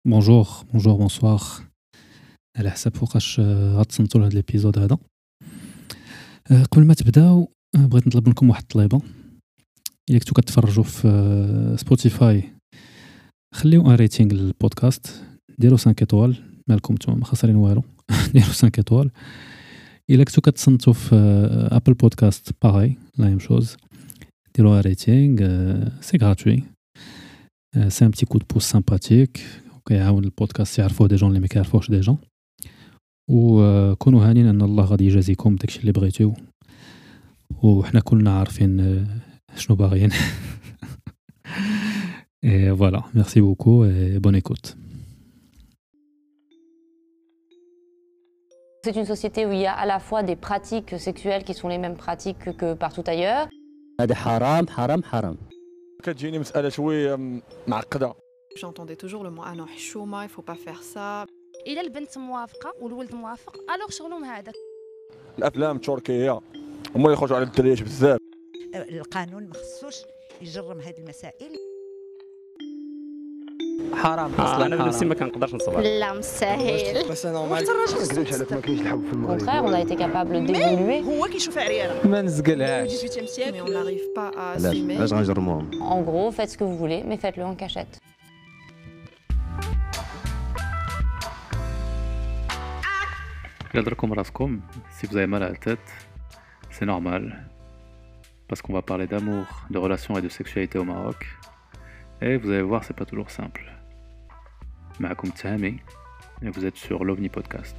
بونجور بونجور بونسوار على حسب فوقاش غتصنتوا لهاد الابيزود هذا. قبل ما تبداو بغيت نطلب منكم واحد الطليبه. الا كنتو كتفرجوا في سبوتيفاي خليو ان ريتينغ للبودكاست، ديروا 5 ايطوال، مالكم نتوما ما خسرين والو. ديروا 5 ايطوال. الا كنتو كتصنتوا في ابل بودكاست باغي لا ميم شوز، ديروا ان ريتينغ، سي غراتوي، سي ان بتي كود بوس سامباتيك وكيعاون البودكاست يعرفوه دي جون اللي ما كيعرفوهش ديجا، وكونوا هانين ان الله غادي يجازيكم داكشي اللي بغيتو وحنا كلنا عارفين شنو باغيين. Et voilà, merci beaucoup et bonne écoute. C'est une société où il y a à la fois des pratiques sexuelles qui sont les mêmes pratiques que partout ailleurs. هذا حرام حرام حرام. كتجيني مسألة شوية معقدة. J'entendais toujours le mot ah non حشومة, il faut pas faire ça. إلا البنت موافقة والولد موافق الوغ شغلهم هذاك. الأفلام التركية هما اللي يخرجوا على الدريات بزاف. القانون ما خصوش يجرم هذه المسائل. حرام اصلا انا بنفسي ما كنقدرش نصبر. لا مستحيل. بس انا ما كنقدرش عليك ما كاينش الحب في Au المغرب. contraire, on a été capable d'évoluer. هو كيشوف عريانة. ما نزقلهاش. 18e siècle, mais on n'arrive pas à علاش assumer. غنجرموهم؟ En gros, faites ce que vous voulez, mais faites-le en cachette. Gardez-vous raskom, si vous avez mal à la tête, c'est normal, parce qu'on va parler d'amour, de relations et de sexualité au Maroc, et vous allez voir, c'est pas toujours simple. Maakoum Tahami, et vous êtes sur l'OVNI Podcast.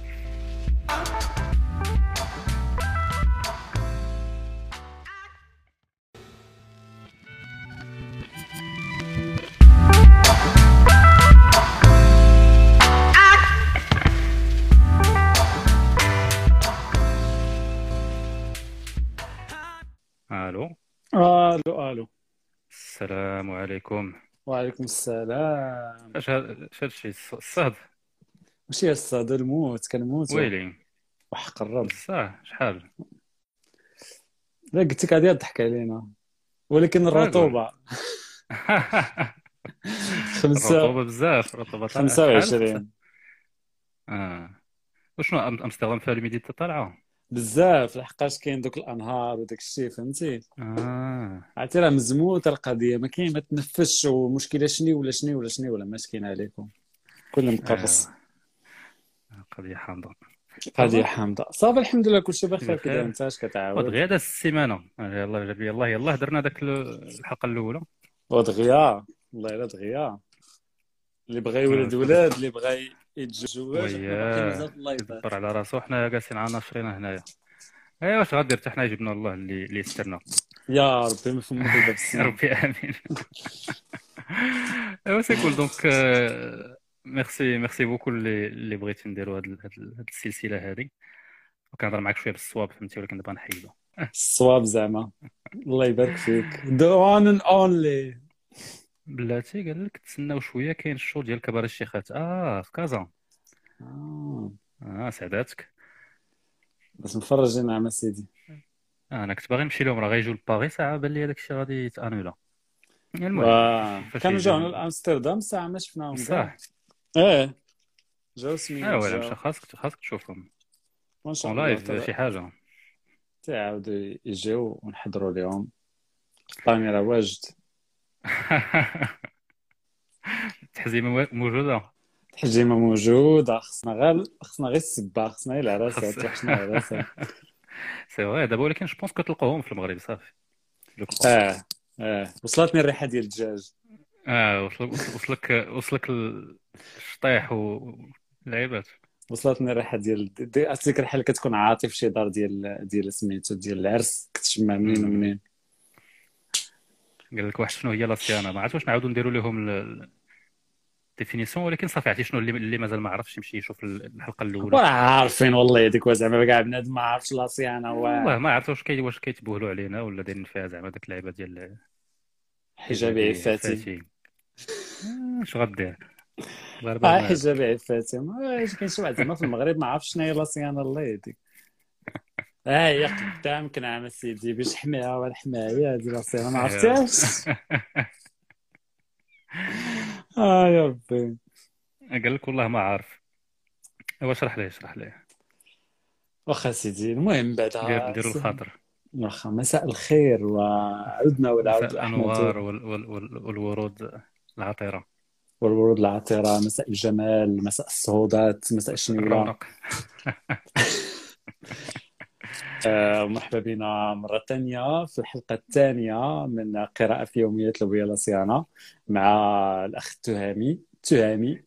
Allô. الو السلام عليكم. وعليكم السلام. اش هادشي الصهد ماشي الصاد الموت كنموت ويلي وحق الرب. بصح شحال لا قلت لك غادي تضحك علينا، ولكن الرطوبه الرطوبه بزاف، الرطوبه طالعه 25 وشنو امستردام فيها الهيوميديتي طالعه بزاف، لحقاش كاين دوك الانهار وداك الشيء فهمتي. عرفتي راه مزموته القضيه، ما كاين ما تنفسش، ومشكله شني ولا مسكين عليكم كل مقرص. قضيه حامضه قضيه حامضه. صافي الحمد لله كلشي بخير. بخير. كذا انت اش كتعاود؟ ودغيا هذا السيمانه يلا درنا داك الحلقه الاولى ودغيا والله الا دغيا اللي بغى يولد ولاد، اللي بغى يتزوج، الله يدبر على راسو. حنا جالسين عا ناشرين هنايا. ايوا واش غادير حتى حنا جبنا الله اللي يسترنا يا ربي ما فهمت دابا يا السنة. ربي امين. ايوا سي كول دونك ميرسي بوكو اللي بغيتي نديروا هاد السلسله هذه، وكنهضر معاك شويه بالصواب فهمتي، ولكن دابا نحيدو الصواب زعما. الله يبارك فيك. the one and only. بلاتي قال لك تسناو شويه، كاين الشو ديال كبار الشيخات في كازا. سعداتك. بس مفرجين نعم سيدي. انا كنت باغي نمشي لهم، راه غيجيو لباري ساعه، بان لي هذاك الشيء غادي يتانولا. المهم كانوا جاو لامستردام ساعه ما شفناهم صح. جاو سميتو. ولا مش خاصك تشوفهم وان شاء اون الله لايف شي حاجه. تعاودوا يجيو ونحضروا لهم. طاني راه واجد. التحزيمه موجوده، الحجيمه موجوده. خصنا غير السبا، خصنا غير العراسات. وحشنا العراسات. سي فري دابا، ولكن جو بونس كتلقاوهم في المغرب صافي. وصلتني الريحه ديال الدجاج. وصلك الشطيح واللعيبات. وصلتني الريحه ديال ديك الريحه اللي كتكون عاطي في شي دار ديال سميتو ديال العرس، كتشمع منين ومنين. قال لك واحد شنو هي لاصيانه، ما عرفت واش نعاودوا نديروا لهم الديفينيسيون، ولكن صافي عرفتي شنو اللي مازال ما عرفش يمشي يشوف الحلقه الاولى. راه عارفين والله هذيك زعما كاع بنادم ما عرفش لاصيانه. والله ما عرفت واش كيتبوهلوا علينا ولا دايرين فيها زعما داك اللعيبه ديال حجابي عفاتي. اش غدير؟ حجابي عفاتي كاين شي واحد زعما في المغرب ما عرفش شنو هي لاصيانه. الله يهديك. هي قدامك نعم سيدي، باش حماها ولا حمايه هذه لاصيانه ما عرفتهاش. يا ربي. قال لك والله ما عارف. ايوا اشرح ليه اشرح ليه. واخا سيدي، المهم بعدها نديروا الخاطر. واخا مساء الخير، وعدنا مساء والعود الانوار احمد والورود العطره. والورود العطرة، مساء الجمال، مساء الصهودات، مساء الشنيورة. الرونق. ومرحبا بنا مرة ثانية في الحلقة الثانية من قراءة في يوميات لوبيا لاسيانا مع الأخ تهامي.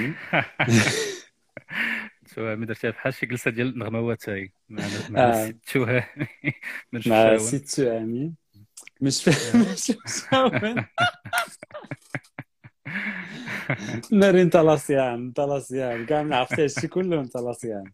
شو ما درتيها بحال شي جلسه ديال النغموات هاي مع الست تهامي من مع الشاون. ست تهامي مش فاهم. شاون نارين طلاسيان كاع ما عرفتي هادشي كله من طلاسيان.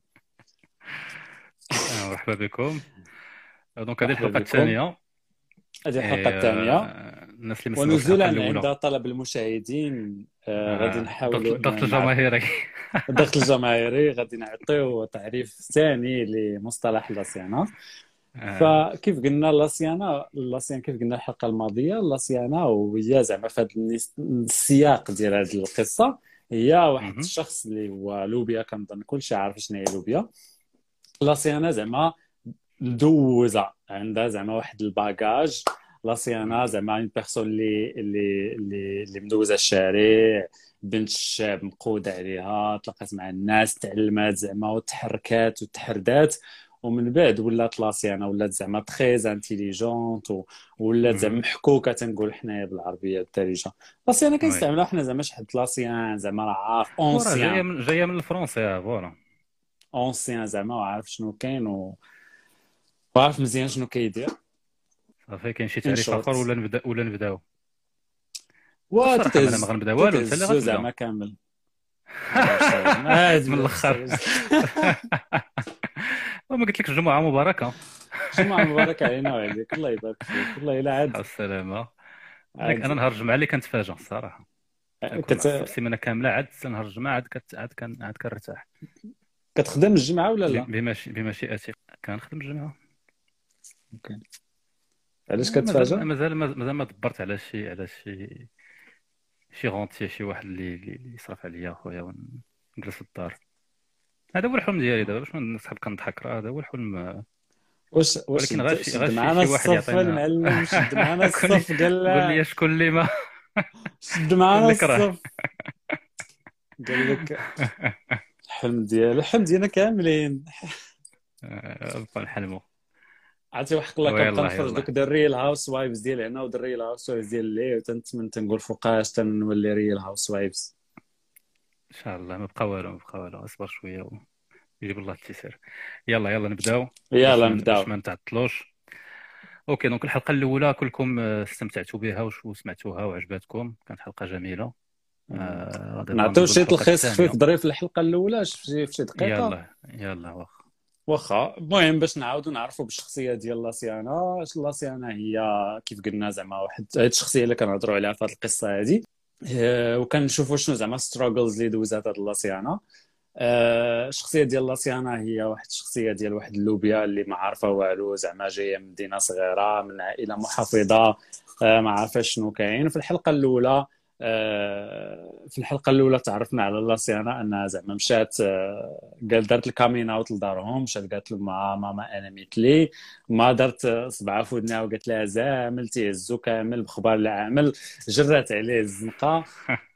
مرحبا بكم. دونك هذه مرحبا الحلقه بكم. الثانيه. هذه الحلقة الثانية، الناس اللي ما سمعوش الحلقه ونزولا الاولى. عند طلب المشاهدين غادي نحاولوا الضغط الجماهيري. الضغط الجماهيري غادي نعطيو تعريف ثاني لمصطلح لاسيانا. فكيف قلنا لاسيان كيف قلنا الحلقه الماضيه، لاسيانا وهي زعما في هذا السياق ديال هذه القصه هي واحد الشخص اللي هو لوبيا. كنظن كلشي عارف شنو هي لوبيا. لاسيانا زعما مدوزه، عندها زعما واحد الباجاج. لاسيانا زعما اون بيرسون اللي مدوزه الشارع، بنت الشاب مقود عليها، تلاقات مع الناس، تعلمات زعما وتحركات وتحردات، ومن بعد ولات لاسيانا ولات زعما تري انتيليجونت، ولات زعما محكوكه تنقول حنايا بالعربيه الدارجه. لاسيانا كنستعملوها حنا زعما شحال لاسيان زعما راه عارف اونسيان، جايه من الفرنسي. فوالا اونسيان زعما وعارف شنو كاين وعارف مزيان شنو كيدير. صافي كاين شي تعريف اخر ولا نبداو؟ وتتهز انا ما غنبدا والو، انت اللي غتبدا زعما كامل من الاخر. وما قلت لك الجمعه مباركه. جمعه مباركه علينا وعليك، الله يبارك فيك. والله الا عاد السلامه. انا نهار الجمعه اللي كنتفاجئ الصراحه، كنت السيمانه كامله عاد نهار الجمعه عاد كنرتاح. كتخدم الجمعه ولا لا؟ بمشيئتي كنخدم الجمعه. اوكي. علاش كتفاجئ؟ مازال ما دبرت على شي غونتي، شي واحد اللي يصرف عليا اخويا ونجلس في الدار. هذا هو الحلم ديالي دابا، باش نسحب كنضحك، راه هذا هو الحلم. ولكن غير شي واحد يعطينا المعلم، شد معنا الصف، قال لي شكون اللي ما شد معنا الصف، قال لك الحلم ديالنا كاملين بقى نحلموا. عرفتي وحق الله كنبقى نخرج دوك الريل هاوس وايفز ديال هنا والريل هاوس وايفز ديال اللي تنتمنى تنقول فوقاش تنولي ريل هاوس وايفز ان شاء الله. ما بقى والو اصبر شويه ويجيب الله التيسير. يلا نبداو باش ما نتعطلوش. اوكي دونك الحلقه الاولى كلكم استمتعتوا بها وسمعتوها وعجبتكم، كانت حلقه جميله. نعطيو شي تلخيص خفيف ظريف في الحلقه الاولى في شي دقيقه. يلا واخا. المهم باش نعاودوا نعرفوا بالشخصيه ديال لاسيانا. لاسيانا هي كيف قلنا زعما واحد هاد الشخصيه اللي كنهضروا عليها في هذه القصه هذه، وكنشوفوا شنو زعما ستراغلز اللي دوزات هاد لاسيانا. الشخصيه ديال لاسيانا هي واحد الشخصيه ديال واحد اللوبيا اللي ما عارفه والو، زعما جايه من مدينه صغيره من عائله محافظه، ما عارفاش شنو كاين. في الحلقه الاولى تعرفنا على لاسيانا انها زعما مشات قال دارت الكامين اوت لدارهم، مشات قالت لهم ماما انا مثلي، ما درت صبعها في ودنها وقالت لها زامل تيهزو كامل بخبار العامل، جرات عليه الزنقه.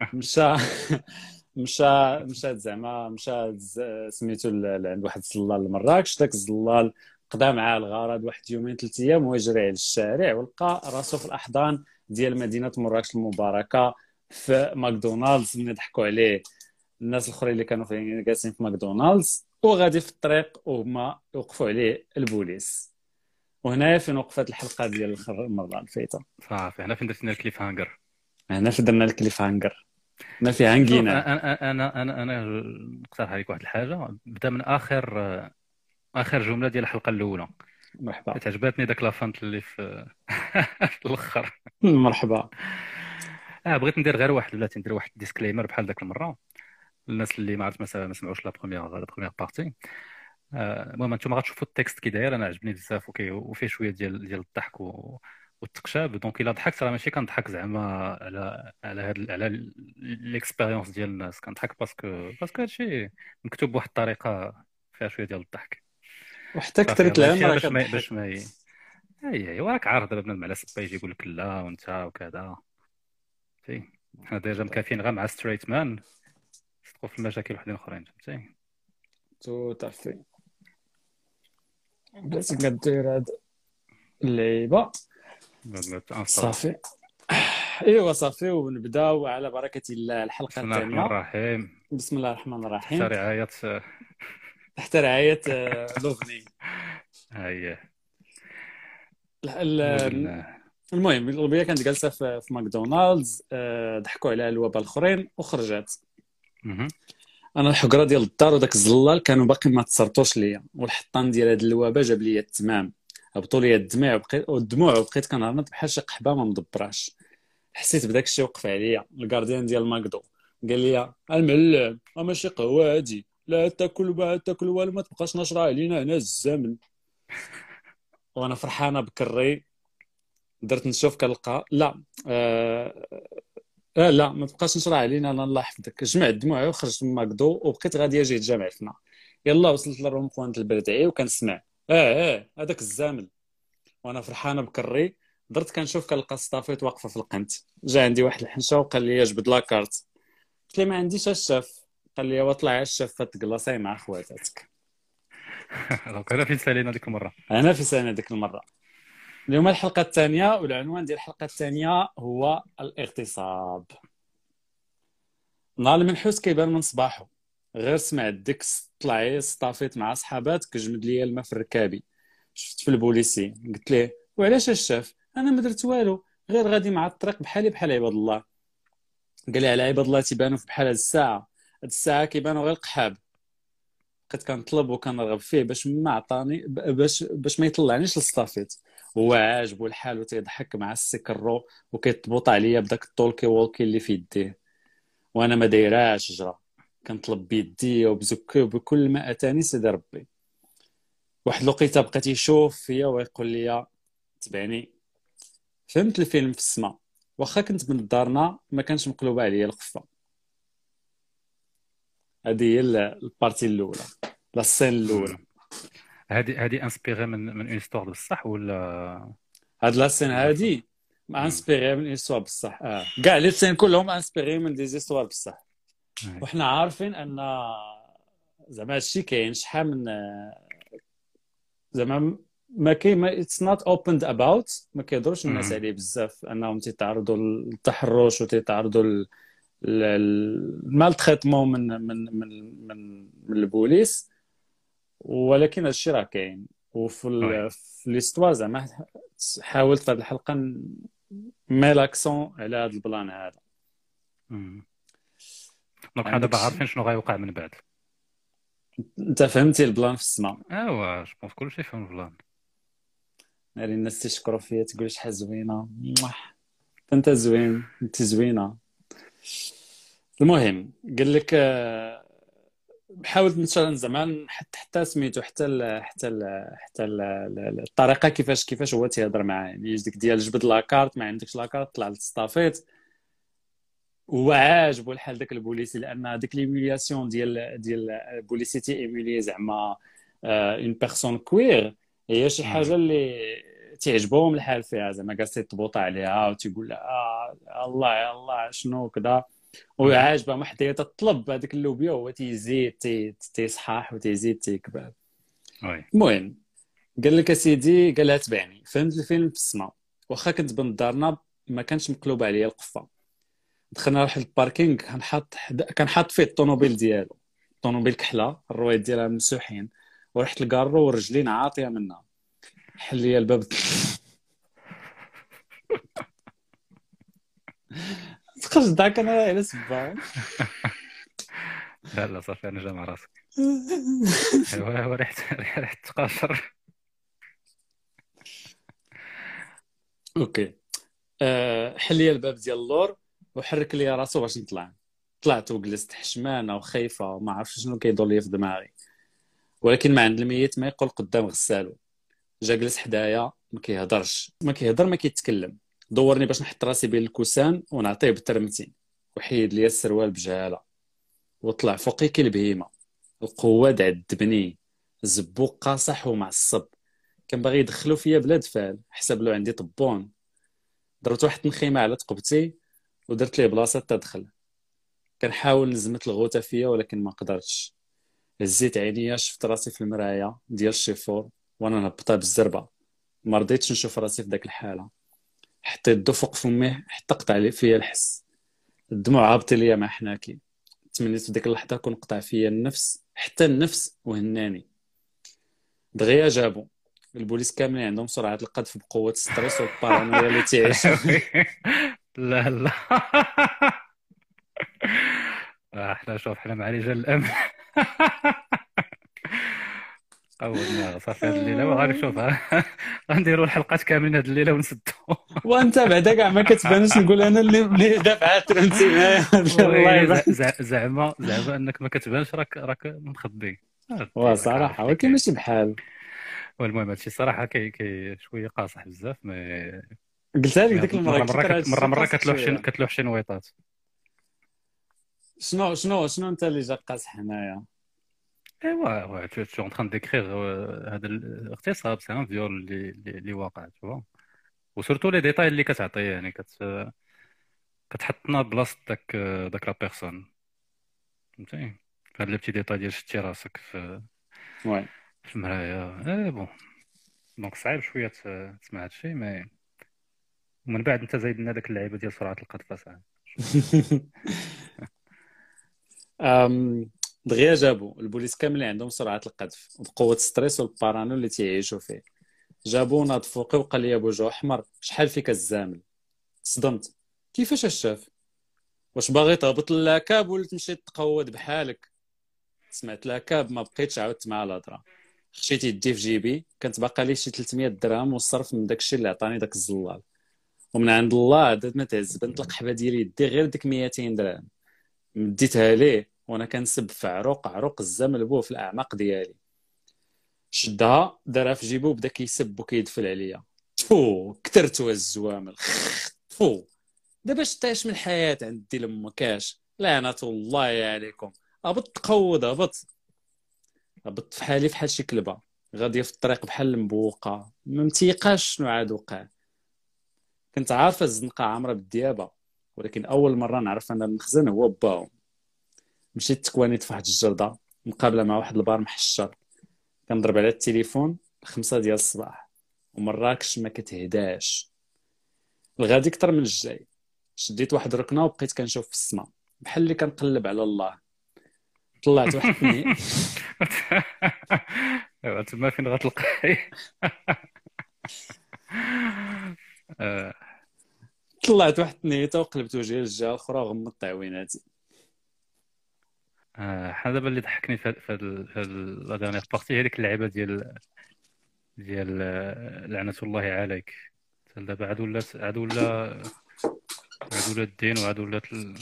مشات زعما سميتو عند واحد الزلال لمراكش. داك الزلال قضى معاه الغرض واحد يومين 3 ايام وهو يجري على الشارع، ولقى راسو في الاحضان ديال مدينه مراكش المباركه في ماكدونالدز. ملي ضحكوا عليه الناس الاخرين اللي كانوا جالسين في ماكدونالدز، وغادي في الطريق وهما وقفوا عليه البوليس. وهنايا فين وقفت الحلقه ديال المره الفايته. صافي هنا فين درنا الكليف هانجر. هنا فين درنا الكليف هانجر، ما فيها هنجينا. انا نقترح عليك واحد الحاجه. بدا من اخر جمله ديال الحلقه الاولى. مرحبا. تعجبتني داك لافانت اللي في الاخر. مرحبا. بغيت ندير غير بلاتي ندير واحد ديسكليمر بحال داك المره الناس اللي ما عرفت ما سمعوش لا بروميير بارتي. المهم انتم غتشوفوا التكست كي داير، انا عجبني بزاف وفيه شويه ديال الضحك والتقشاب. دونك الا ضحكت راه ماشي كنضحك زعما على على ليكسبيريونس ديال الناس، كنضحك باسكو هادشي مكتوب بواحد الطريقه فيها شويه ديال الضحك. وحتى صافي كثرت الله الهم يمشيها راه باش كتضحك. ما اي وراك عارف دابا بنادم على سبا يجي يقول لك لا وانت وكذا. فهمتي، حنا ديجا مكافيين غير مع ستريت مان، ندخل في المشاكل وحدين اخرين. فهمتي، تو تعرفي بلاتي كدير هاد اللعيبه. صافي ايوا صافي، ونبداو على بركه الله الحلقه بسم الله الرحمن الثانيه. الرحيم. بسم الله الرحمن تحت الرحيم، رعايه تحت رعايه لوفني. هي ال- المهم الغبيه كانت جالسه في ماكدونالدز، ضحكوا عليها الوباء الاخرين وخرجت. انا الحقره ديال الدار وداك الزلال كانوا باقي ما تصرطوش ليا، والحطان ديال هاد الوباء جاب ليا التمام، هبطوا ليا الدموع وبقيت كنهرنط بحال شي قحبه ما مدبراش. حسيت بداك الشيء وقف عليا الكارديان ديال ماكدو، قال لي المعلم ماشي قهوه هادي، لا تاكل والو، ما تبقاش نشرها علينا هنا الزمن. وانا فرحانه بكري درت نشوف كنلقى لا لا ما تبقاش نشرح علينا، انا الله يحفظك. جمعت دموعي وخرجت من ماكدو وبقيت غادي اجي جامعتنا. يلا وصلت للروم خوانت البردعي وكنسمع هذاك الزامل. وانا فرحانه بكري درت كنشوف كنلقى ستافيت واقفه في القنت. جا عندي واحد الحنشه وقال لي جبد لاكارت، قلت لي ما عنديش الشاف. قال لي واطلع الشاف تقلاصي مع خواتاتك. دونك انا فين سالينا ديك المره، انا في سنه ديك المره. اليوم الحلقه الثانيه، والعنوان ديال الحلقه الثانيه هو الاغتصاب. نهار المنحوس كيبان من صباحو، غير سمعت ديك طلعي صطافيت مع صحابات كجمد ليا الماء في الركابي. شفت في البوليسي قلت ليه وعلاش الشاف، انا ما درت والو، غير غادي مع الطريق بحالي بحال عباد الله. قال لي على عباد الله تيبانوا في بحال هاد الساعه، هاد الساعه كيبانوا غير القحاب. بقيت كنطلب وكنرغب فيه باش ما عطاني باش ما يطلعنيش للصافيت. هو عاجبو الحال وتيضحك مع السكرو وكيطبط عليا بداك الطولكي وولكي اللي في يديه، وانا ما دايراش جرا كنطلب بيدي وبزكي وبكل ما اتاني سيدي ربي. واحد الوقيته بقيت يشوف فيا ويقول لي تبعني. فهمت الفيلم في السماء، واخا كنت من دارنا ما كانش مقلوبه عليا القفه. هذه هي البارتي الاولى، لا السين الاولى. هذه انسبيري من اون ستور بصح ولا هاد لا سين هادي انسبيري من ايستوار بصح؟ كاع لي سين كلهم انسبيري من دي زيستوار بصح. وحنا عارفين ان زعما هادشي كاين شحال من زعما ما كاين، اتس نوت اوبند اباوت، ما كيهضروش الناس عليه بزاف انهم تيتعرضوا للتحرش وتيتعرضوا المال تريتمون من البوليس. ولكن هادشي راه كاين. وفي ليستوار زعما حاولت في هذه الحلقه مي لاكسون على هذا البلان هذا. دونك حنا دابا عارفين شنو غيوقع من بعد. انت فهمتي البلان في السماء؟ ايوا جو بونس كلشي فهم البلان. ناري الناس تيشكروا فيا تقول شحال زوينه، انت زوين، انت زوينه. المهم قال لك حاولت مثلا زمان حتى سميتو حتى الطريقه كيفاش هو تيهضر معاه، يعني ديك ديال جبد لاكارت، ما عندكش لاكارت طلع للصطافيت. هو عاجبو الحال داك البوليسي، لان ديك ليميلياسيون ديال البوليسي تي ايميلي زعما اون بيرسون كوير، هي شي حاجه اللي تعجبهم الحال فيها، زعما جالس يطبط عليها وتيقول لها الله الله شنو كذا، وعاجبه ما حدا تطلب هذيك اللوبيا هو تيزيد تيصحاح وتيزيد تيكبر. المهم قال لك اسيدي، قال لها تبعني. فهمت الفيلم في السماء، واخا كنت بنت دارنا ما كانش مقلوب عليا القفه. دخلنا واحد الباركينغ كان حاط فيه الطوموبيل ديالو، الطوموبيل كحله الروايد ديالها مسوحين، ورحت لكارو ورجلين عاطيه منها. حل لي الباب تخرج داك انا على سبا. لا صافي انا جا مع راسك. ايوا ريحه تقاشر. اوكي حل لي الباب ديال اللور وحرك لي راسو باش نطلع. طلعت وجلست حشمانه وخايفه وما عرفتش شنو كيدور لي في دماغي، ولكن ما عند الميت ما يقول قدام غسالو. جا جلس حدايا، ما كيهضرش، ما كيهضر، ما كيتكلم. دورني باش نحط راسي بين الكوسان ونعطيه بالترمتين، وحيد لي السروال بجهاله، وطلع فوقي كالبهيمه. القوه عذبني، الزبوق قاصح ومعصب، كان باغي يدخلو فيا بلا دفال، حسب له عندي طبون. درت واحد النخيمه على تقبتي ودرت ليه بلاصه تدخل. كنحاول نزمت الغوته فيا ولكن ما قدرتش. هزيت عينيا، شفت راسي في المرايه ديال الشيفور وانا نهبطها بالزربه. ما رضيتش نشوف راسي في داك الحاله. حطيت يدو فوق فمي حتى قطع لي فيا الحس. الدموع هابطه ليا مع حناكي. تمنيت في ديك اللحظه كون قطع فيا النفس، حتى النفس، وهناني. دغيا جابو البوليس كاملين عندهم سرعه القذف بقوه الستريس والبارانويا اللي تعيشوا. لا لا. احنا شوف، احنا مع رجال الامن. اول صافي هاد الليله وغادي نشوف. غنديروا الحلقات كاملين هاد الليله ونسدوا. وانت بعدا كاع ما كتبانش، نقول انا اللي دافعات ترنتي. زعما انك ما كتبانش، راك مخبي. صراحه ولكن ماشي بحال. والمهم هادشي صراحه كي شويه قاصح بزاف. قلتها لك ديك المره، مره كتلوح شي نويطات. شنو انت اللي جا قاصح هنايا؟ ايوا tu en train de décrire هذا الاغتصاب، سي ان فيول اللي واقع، تو وسورتو لي ديتاي اللي كتعطيه، يعني كتحطنا بلاصه داك لا بيرسون، فهمتي؟ هاد لي بتي ديتاي ديال شتي راسك في المرايه. بون دونك صعيب شويه تسمع هادشي، مي ومن بعد انت زايد لنا داك اللعيبه ديال سرعه القذف صاحبي. دغيا جابوا البوليس كاملين عندهم سرعه القذف وبقوه الستريس والبارانو اللي تيعيشوا فيه. جابوا ناض فوقي وقال لي بوجه احمر، شحال فيك الزامل؟ تصدمت. كيفاش شاف؟ واش باغي تهبط للاكاب ولا تمشي تقود بحالك؟ سمعت لاكاب، ما بقيتش عاودت مع الهضره. خشيت يدي في جيبي، كانت باقا لي شي 300 درهم والصرف من داكشي اللي عطاني داك الزلال. ومن عند الله عاد ما تعز، بنت القحبه ديال يدي غير ديك 200 درهم مديتها ليه وانا كنسب في عروق الزمل بوه في الاعماق ديالي. شدها دارها في جيبو وبدا كيسب وكيدفل عليا. تفو كثرت الزوامل. تفو دابا شتاش من الحياه عندي لمكاش، لعنه الله عليكم. هبط تقود، هبط في حالي فحال شي كلبه غاديه في الطريق بحال المبوقه، ما متيقاش شنو عاد وقع. كنت عارفه الزنقه عامره بالديابه، ولكن اول مره نعرف ان المخزن هو باهم. مشيت تكوانيت في واحد الجرده مقابله مع واحد البار محشر. كنضرب على التليفون 5 ديال الصباح ومراكش ما كتهداش. الغادي اكثر من الجاي. شديت واحد الركنه وبقيت كنشوف في السماء بحال اللي كنقلب على الله. طلعت واحد ايوا تما فين غتلقاي. طلعت واحد النيته وقلبت وجهي للجهه الاخرى وغمضت عويناتي. حنا دابا اللي ضحكني في لا ديرنيير بارتي هي ديك اللعيبه ديال لعنه الله عليك. دابا عاد ولا الدين وعاد ولات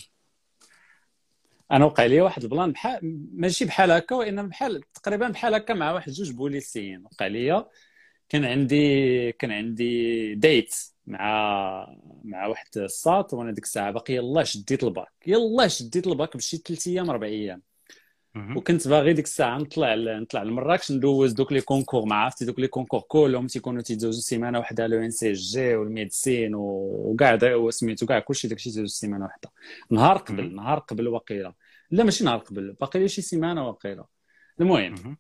انا وقع لي واحد البلان بحال ماشي بحال هكا، وانما بحال تقريبا بحال هكا مع واحد جوج بوليسيين. وقع لي كان عندي ديت مع واحد الساط، وانا ديك الساعه باقي يلاه شديت الباك بشي 3 ايام 4 ايام. وكنت باغي ديك الساعه نطلع لمراكش ندوز دوك لي كونكور. ما عرفتي دوك لي كونكور كلهم تيكونوا تيدوزوا سيمانه واحده، لو ان سي جي والميديسين وكاع سميتو كاع كلشي داكشي تيدوز سيمانه واحده. نهار قبل وقيله، لا ماشي نهار قبل، باقي لي شي سيمانه وقيله. المهم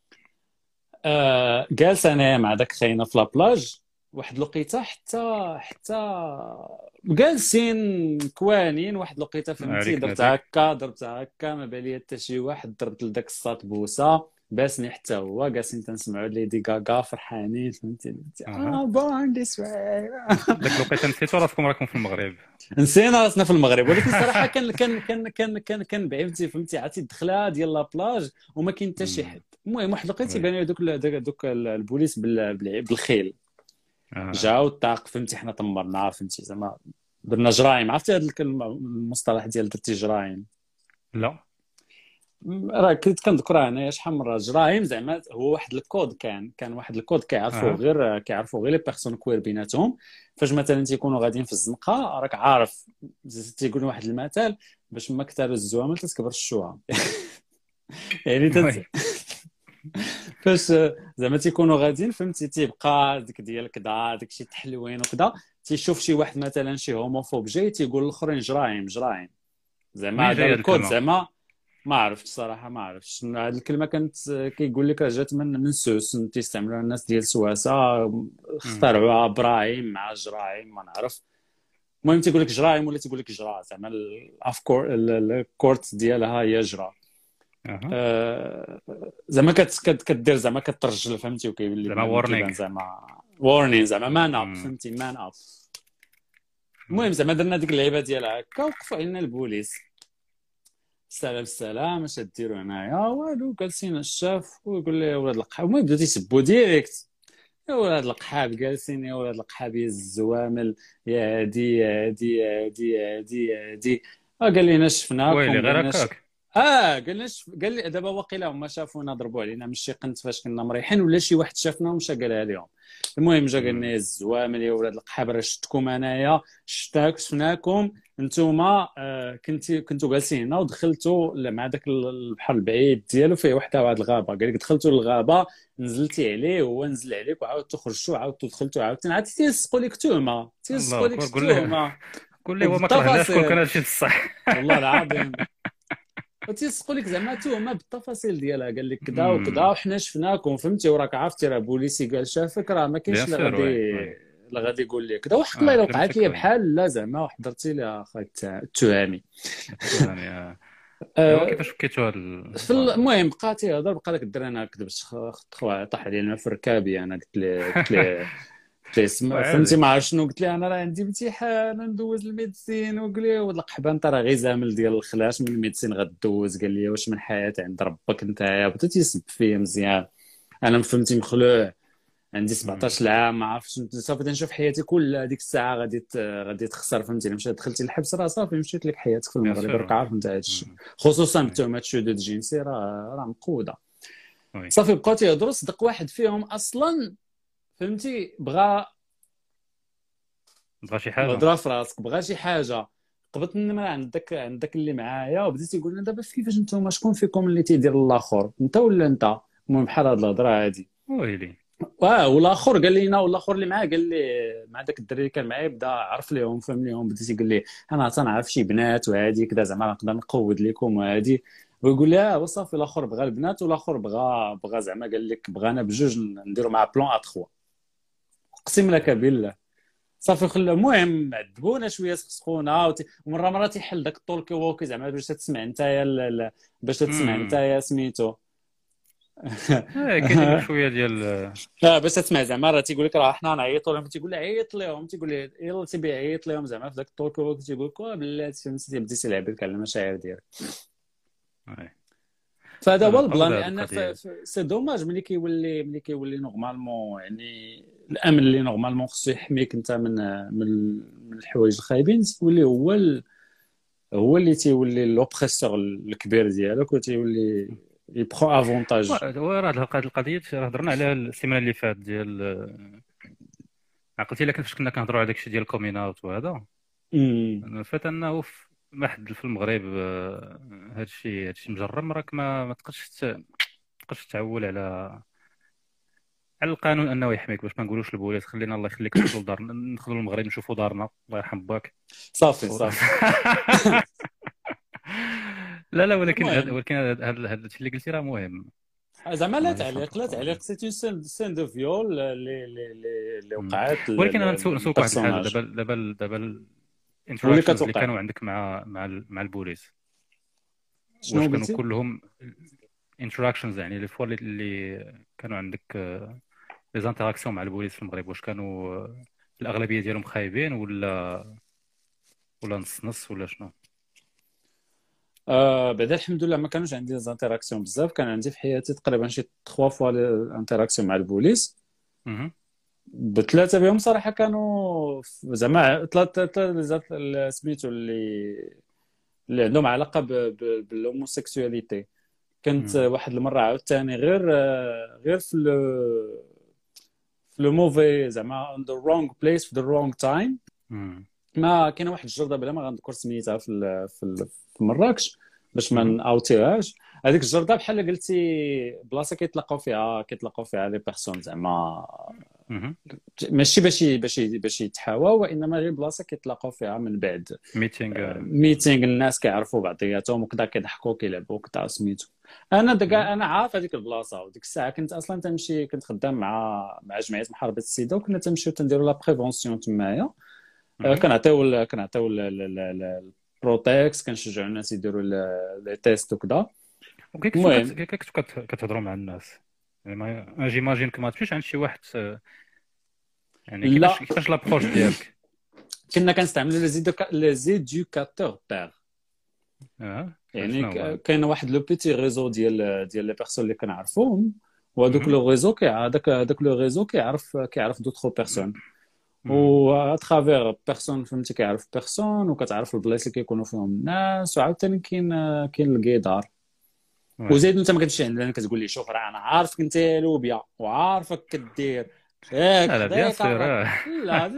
جالس انا مع داك خاينه في لابلاج واحد لقيته حتى جالسين كوانين واحد لقيته، فهمتي؟ درت هكا ما بالي حتى شي واحد. ضربت لذاك الساط بوسه باسني حتى هو. جالسين تنسمعوا ليدي غاغا فرحانين، فهمتي؟ بون دي سوير. داك الوقيته نسيتو راسكم راكم في المغرب. نسينا راسنا في المغرب، ولكن صراحه كان بعيد، فهمتي؟ عرفتي الدخله ديال لابلاج وما كاين حتى شي حد. المهم واحد لقيت يبان دوك البوليس بالخيل. جاو الطاق، فهمتي؟ حنا طمرنا، فهمتي؟ زعما درنا جرايم. عرفتي هذا المصطلح ديال درتي جرايم؟ لا راه كنت كنذكرها انايا شحال من مره جرايم زعما هو واحد الكود كان واحد الكود كيعرفوا غير لي بيرسون كوير بيناتهم. فاش مثلا تيكونوا غاديين في الزنقه راك عارف تيقول واحد المثال باش ما كثروا الزوامل تتكبر الشوها يعني فاش زعما تيكونوا غاديين فهمتي تيبقى ديك ديال كذا داكشي تحلوين وكذا تيشوف شي واحد مثلا شي هوموفوب جاي تيقول للاخرين جرايم زعما هذا الكود زعما ما عرفتش الصراحه ما عرفتش هذه الكلمه كانت كيقول لك جات من سوس تيستعملوها الناس ديال سواسه اخترعوها برايم مع جرايم ما نعرف. المهم تيقول لك جرايم ولا تيقول لك جرا زعما الافكور الكورت ديالها هي جرا. زعما كدير زعما كترجل فهمتي وكيولي زعما وورنينغ زعما وورنينغ زعما مان اب فهمتي مان اب. المهم زعما درنا ديك اللعيبه ديال هكا وقفوا علينا البوليس السلام اش ديروا هنايا والو جالسين الشاف ويقول لي يا ولاد القحاب المهم بداو تيسبوا ديريكت يا ولاد القحاب جالسين يا ولاد القحاب يا الزوامل يا هادي يا هادي يا هادي يا هادي يا هادي قال لينا شفناكم ويلي غير هكاك قال لي دابا واقيلا هما شافونا ضربوا علينا ماشي قنت فاش كنا مريحين ولا شي واحد شافنا ومشى قالها لهم. المهم جا قال لنا الزوامل يا ولاد القحاب راه شفتكم انايا شفناكم نتوما كنتو جالسين هنا ودخلتوا مع داك البحر البعيد ديالو فيه وحده واحد الغابه قال لك دخلتوا للغابه نزلتي عليه وهو نزل عليك وعاودتوا خرجتوا عاودتوا دخلتوا عاودتوا عاد تيسقوا لك توما قول لي هو ما كرهناش كون كان هادشي بصح والله العظيم وتيسقوا لك زعما توما بالتفاصيل ديالها قال لك كذا وكذا وحنا شفناكم فهمتي وراك عرفتي راه بوليسي قال شافك راه ما كاينش اللي غادي يقول لك كذا وحق الله الا وقعت لي بحال لا زعما وحضرتي لي اخاك التهامي كيفاش فكيتوا هذا المهم بقى تيهضر بقى داك الدري انا كذبت طاح عليا الماء في ركابي انا قلت لي فهمتي ما عرفت شنو قلت لي انا راه عندي امتحان ندوز الميديسين وقال لي ولد القحبه انت راه غير زامل ديال الخلاش من الميديسين غدوز قال لي واش من حياه عند ربك نتايا بدا تيسب فيا مزيان انا فهمتي مخلوع عندي 17 عام ما عرفتش صافي تنشوف حياتي كل هذيك الساعه غادي تخسر فهمتي مشيت دخلتي الحبس راه صافي مشيت لك حياتك في المغرب راك عارف انت هذا الشيء خصوصا بتهمه الشذوذ الجنسي راه مقوده صافي بقاو تيهضروا صدق واحد فيهم اصلا فهمتي بغى شي حاجه هضره في راسك بغى شي حاجه قبضت النمره عندك اللي معايا وبديت يقول لنا دابا كيفاش نتوما شكون فيكم اللي تيدير الاخر انت ولا انت المهم بحال هاد الهضره هادي ويلي والاخر قال لينا والاخر اللي معاه قال لي مع داك الدري اللي كان معايا بدا عرف ليهم فهم ليهم بدا يقول لي انا تنعرف شي بنات وهادي كذا زعما نقدر نقود لكم وهادي ويقول لي وصافي الاخر بغى البنات والاخر بغى زعما قال لك بغانا بجوج نديروا مع بلون ا 3 اقسم لك بالله صافي خلى المهم عذبونا شويه سخسخونا ومره تيحل داك الطولكي ووكي زعما باش تسمع نتايا سميتو كاين شويه ديال باش تسمع زعما راه تيقول لك راه حنا نعيطوا لهم تيقول لي عيط لهم تيقول لي يلا تيبي عيط لهم زعما في داك الطولكي ووكي تيقول لك بلاتي فهمتي بديتي تلعب لك على المشاعر ديالك فهذا هو البلان لان سي دوماج ملي كيولي نورمالمون يعني الامن اللي نورمالمون خصو يحميك انت من الحوايج الخايبين تولي هو اللي تيولي لوبريسور الكبير ديالك وتيولي يبخو افونتاج. وراه هاد القضيه هضرنا عليها السيمانه اللي فات ديال عقلتي لكن فاش كنا كنهضروا على داكشي ديال الكومين اوت وهذا فات انه واحد في المغرب هادشي مجرم راك ما تقدرش تعول على القانون انه يحميك باش ما نقولوش البوليس خلينا الله يخليك ندخلوا لدارنا ندخلوا المغرب نشوفوا دارنا الله يرحم باك صافي لا ولكن هذا الشيء اللي قلتي راه مهم زعما لا تعليق سي سين دو فيول اللي وقعت ولكن انا نسولك واحد الحاجه دابا الانتراكشنز اللي كانوا عندك مع البوليس شنو كانوا كلهم انتراكشنز يعني لي فوا اللي كانوا عندك لي زانتراكسيون مع البوليس في المغرب واش كانوا الاغلبيه ديالهم خايبين ولا نص ولا شنو؟ بعدا الحمد لله ما كانوش عندي زانتراكسيون بزاف كان عندي في حياتي تقريبا شي 3 فوا الانتراكسيون مع البوليس بثلاثه بهم صراحه كانوا زعما ثلاثه سميتو اللي عندهم علاقه بالهوموسيكسواليتي كنت واحد المره عاوتاني غير في لو موفي زعما in the wrong place في the wrong time. ما كاينه واحد الجرده بلا ما غنذكر سميتها في مراكش باش ما ناوتيهاش. هذيك الجرده بحال قلتي بلاصه كيتلاقاو فيها لي بيرسون زعما ماشي باش يتحاواو، وانما غير بلاصه كيتلاقاو فيها من بعد ميتينغ الناس كيعرفوا بعضياتهم وكذا، كيضحكوا كيلعبوا وكذا سميتو. انا عارف هذيك البلاصه، وديك الساعه كنت اصلا تمشي، كنت خدام مع جمعيه محاربه السيده، وكنا تمشيو تنديروا لا بريفونسيون تمايا. كنعطيو البروتكس، كنشجعوا الناس يديروا لي تيست وكذا. المهم كتهضروا مع الناس يعني جيماجين ما تمشيش عند شي واحد يعني كيفاش لابروش ديالك؟ كنا كنستعملوا لي زيدوكاتور بير. يعني كاين واحد لو بيتي ريزو ديال لي بيرسون اللي كنعرفوهم، وهذوك لو ريزو هذاك لو ريزو كيعرف دوطخ بيرسون، و اترافير بيرسون فهمتي كيعرف بيرسون، وكتعرف البلايص اللي كيكونوا فيهم الناس. وعاوتاني كاين الكيدار. وزيد انت ما كتمشي عندنا كتقول لي شوف راه انا عارفك انت يا لوبيا وعارفك كدير لا بيان سور. لا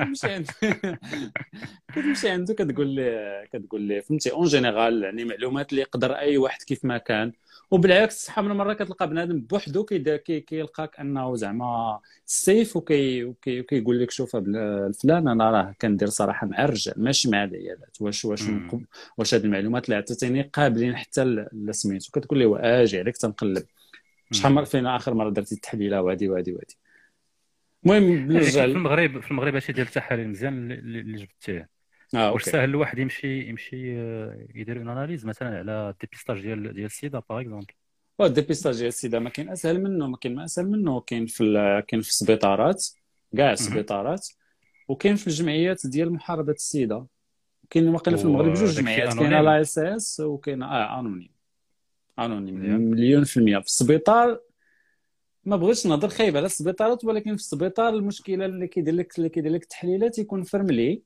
كتمشي عنده كتقول لي فهمتي اون جينيرال، يعني معلومات اللي يقدر اي واحد كيف ما كان. وبالعكس شحال من مره كتلقى بنادم بوحدو كيلقاك انه زعما سيف وكيقول لك شوف الفلان انا راه كندير صراحه مع الرجال ماشي مع العيالات، واش هاد المعلومات اللي عطيتيني قابلين حتى لسميتو. كتقول لي اجي عليك تنقلب شحال فين اخر مره درتي التحليله وهادي. المهم نرجع في المغرب هادشي ديال التحاليل مزيان اللي جبتيه. واش ساهل الواحد يمشي يدير اون اناليز مثلا على ديبيستاج ديال السيدا باغ اكزومبل؟ الديبيستاج ديال السيدا ما كاين اسهل منه، ما كاين ما اسهل منه. كاين في السبيطارات، كاع السبيطارات، وكاين في الجمعيات ديال محاربه السيدا. كاين واقيلا في المغرب جوج جمعيات، كاين لا اس اس وكاين انونيم مليون في المية. في السبيطار ما بغيتش نهضر خايب على السبيطارات، ولكن في السبيطار المشكله اللي كيدير لك التحليلات يكون فرملي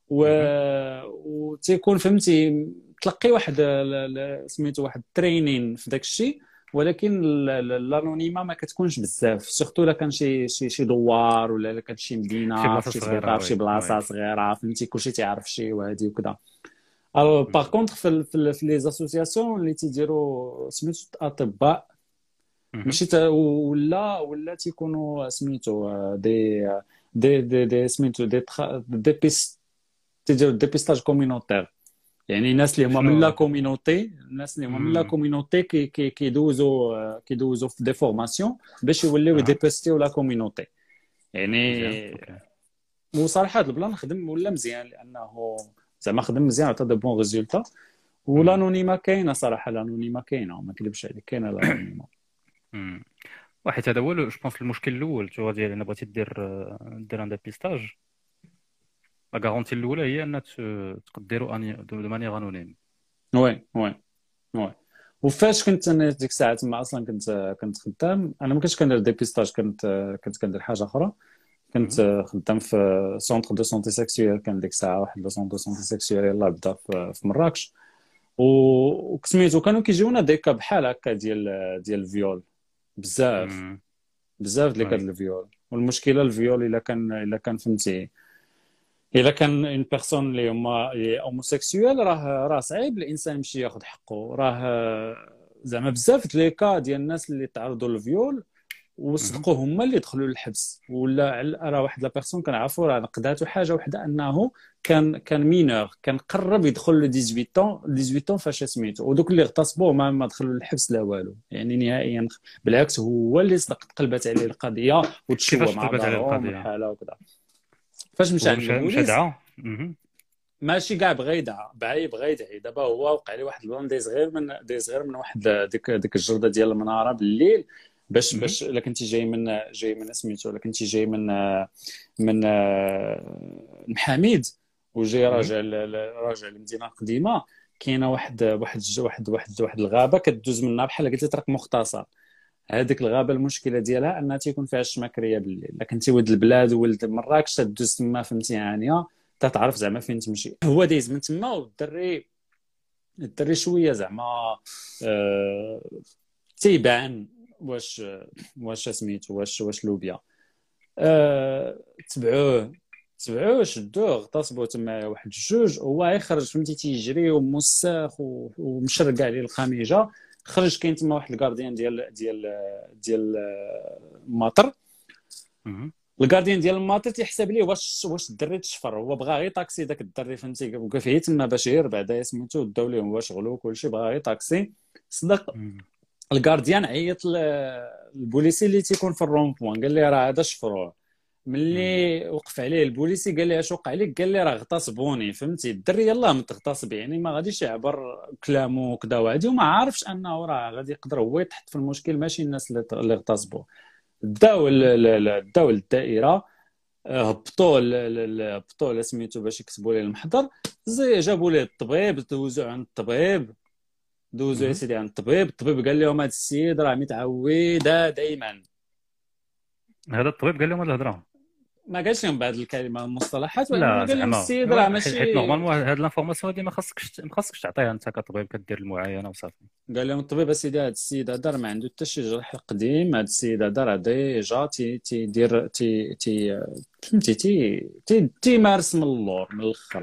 وتيكون فهمتي تلقي واحد سميتو واحد ترينين في داك الشيء، ولكن الانونيما ما كتكونش بزاف، سورتو الا كان شي دوار ولا الا كان شي مدينه شي سبيطار شي بلاصه صغيره فهمتي كلشي تيعرف شي وهادي وكذا. الو باغ كونطخ في لي زاسوسياسيون اللي تيديروا سميتو اطباء ماشي ولا تيكونوا سميتو دي سميتو دي تيديروا ديبيستاج كومينوتير، يعني الناس اللي هما من لا كومينوتي كيدوزوا في دي فورماسيون باش يوليو يديبيستيو لا كومينوتي يعني. وصراحه البلان خدم ولا مزيان، لانه زعما خدم مزيان عطى دو بون ريزولتا. والانونيما كاينه صراحه، الانونيما كاينه ما نكذبش عليك، كاينه الانونيما. واحد هذا هو جو بونس المشكل الاول تو ديال انا بغيتي دير ان ديبيستاج. لا غارونتي الاولى هي ان تقدروا دو مانيير انونيم. وي وفاش كنت انا ديك الساعه تما اصلا كنت خدام، انا ما كنتش كندير ديبيستاج، كنت كندير حاجه اخرى. كنت خدام في سونتر دو سونتي سيكسيوال، كان ديك الساعه واحد لو سونتر دو سونتي سيكسيوال يلاه بدا في مراكش. وكسميتو كانوا كيجيونا ديكا بحال هكا ديال الفيول بزاف ديال الفيول. والمشكله الفيول الا كان فهمتي الا كان اون بيرسون اللي هما هوموسيكسوال راه صعيب الانسان يمشي ياخذ حقه. راه زعما بزاف لي كا ديال الناس اللي تعرضوا للفيول وصدقوا هما اللي دخلوا للحبس، ولا راه واحد لا بيرسون كنعرفوا راه نقداتو حاجه وحده انه كان مينور، كان قرب يدخل ل 18 طون فاش سميتو، ودوك اللي اغتصبوه ما دخلوا للحبس لا والو يعني نهائيا. بالعكس هو اللي صدق تقلبت عليه القضيه وتشوى مع بعضهم الحاله وكذا. فاش مشى عند البوليس ماشي كاع بغا يدعى دابا هو وقع لي واحد البلان دي صغير من واحد ديك الجرده ديال المناره بالليل باش الا كنتي جاي من سميتو، الا كنتي جاي من المحاميد وجاي راجع للمدينه القديمه، كاينه واحد الغابه كدوز منها بحال قلتي طريق مختصر. هذيك الغابه المشكله ديالها انها تيكون فيها الشماكريه بالليل. الا كنتي ولد البلاد وولد مراكش تدوز تما فهمتي عانيه تتعرف زعما فين تمشي. هو دايز من تما والدري شويه زعما تيبان واش سميتو واش لوبيا. تبعوه شدوه اغتصبوه تما واحد جوج، هو يخرج فهمتي تيجري وموسخ ومشرقع عليه الخميجه. خرج كاين تما واحد الكارديان ديال الماطر. الكارديان ديال الماطر تيحسب ليه واش الدري تشفر، هو بغا غير طاكسي داك الدري فهمتي، وقف هي تما باش غير بعدا سميتو داو ليه هو شغلو كلشي، بغا غير طاكسي. صدق الكارديان عيط للبوليسي اللي تيكون في الرون بوان، قال لي راه هذا شفروه. ملي وقف عليه البوليسي قال لي اش وقع لك، قال لي راه اغتصبوني فهمتي. الدري يلاه متغتصب يعني ما غاديش يعبر كلامه وكذا وعادي، وما عارفش انه راه غادي يقدر هو يتحط في المشكل ماشي الناس اللي اغتصبوه. داو للدائره، هبطوا سميتو باش يكتبوا ليه المحضر. جابوا ليه الطبيب، دوزو عند الطبيب، دوزو يا سيدي عند الطبيب قال لهم هذا السيد راه متعود دائما. هذا الطبيب قال لهم هاد الهضره؟ ما قالش لهم بعض الكلمه المصطلحات، ولكن لا قال لهم زعما السيد راه ماشي. حيت نورمالمون هاد لانفورماسيون هادي ما خاصكش تعطيها انت كطبيب كدير المعاينه وصافي. قال لهم الطبيب اسيدي هذا السيد هذا ما عنده حتى شي جرح قديم، هذا السيد هذا راه ديجا تيدير فهمتي تيمارس من اللور من الاخر.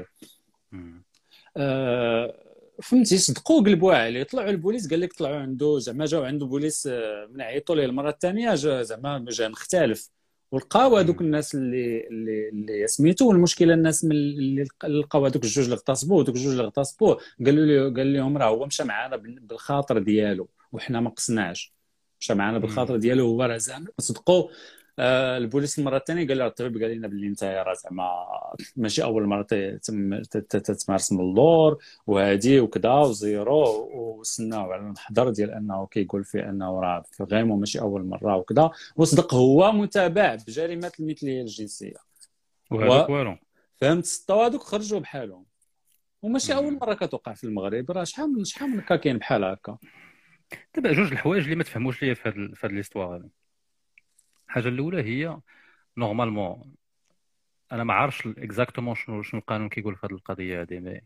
فهمتي صدقوا قلبوا عليه. طلعوا البوليس قال لك طلعوا عنده زعما جاو عنده بوليس من عيطوا ليه المره الثانيه زعما جا مختلف، ولقاو هذوك الناس اللي سميتو. والمشكله الناس اللي لقاو هذوك الجوج اللي اغتصبوه قال لهم راه هو مشى معنا بالخاطر ديالو وحنا ما قصناش، مشى معنا بالخاطر ديالو هو راه زعما. صدقوا البوليس المره الثانيه قال له الطبيب قال لنا باللي انت راه زعما ماشي اول مره تمارس من اللور وهادي وكذا وزيرو، وسناو على المحضر ديال انه كيقول فيه انه راه في غيمو ماشي اول مره وكذا. وصدق هو متابع بجريمه المثليه الجنسيه وهذوك والو فهمت. سطوا هذوك خرجوا بحالهم، وماشي اول مره كتوقع في المغرب، راه شحال من كاين بحال هكا. دابا جوج الحوايج اللي ما تفهموش ليا في هاد ليستوار هذه. الحاجه الاولى هي نورمالمون انا ما عارفش اكزاكتومون شنو القانون كيقول في هذه القضيه هذه.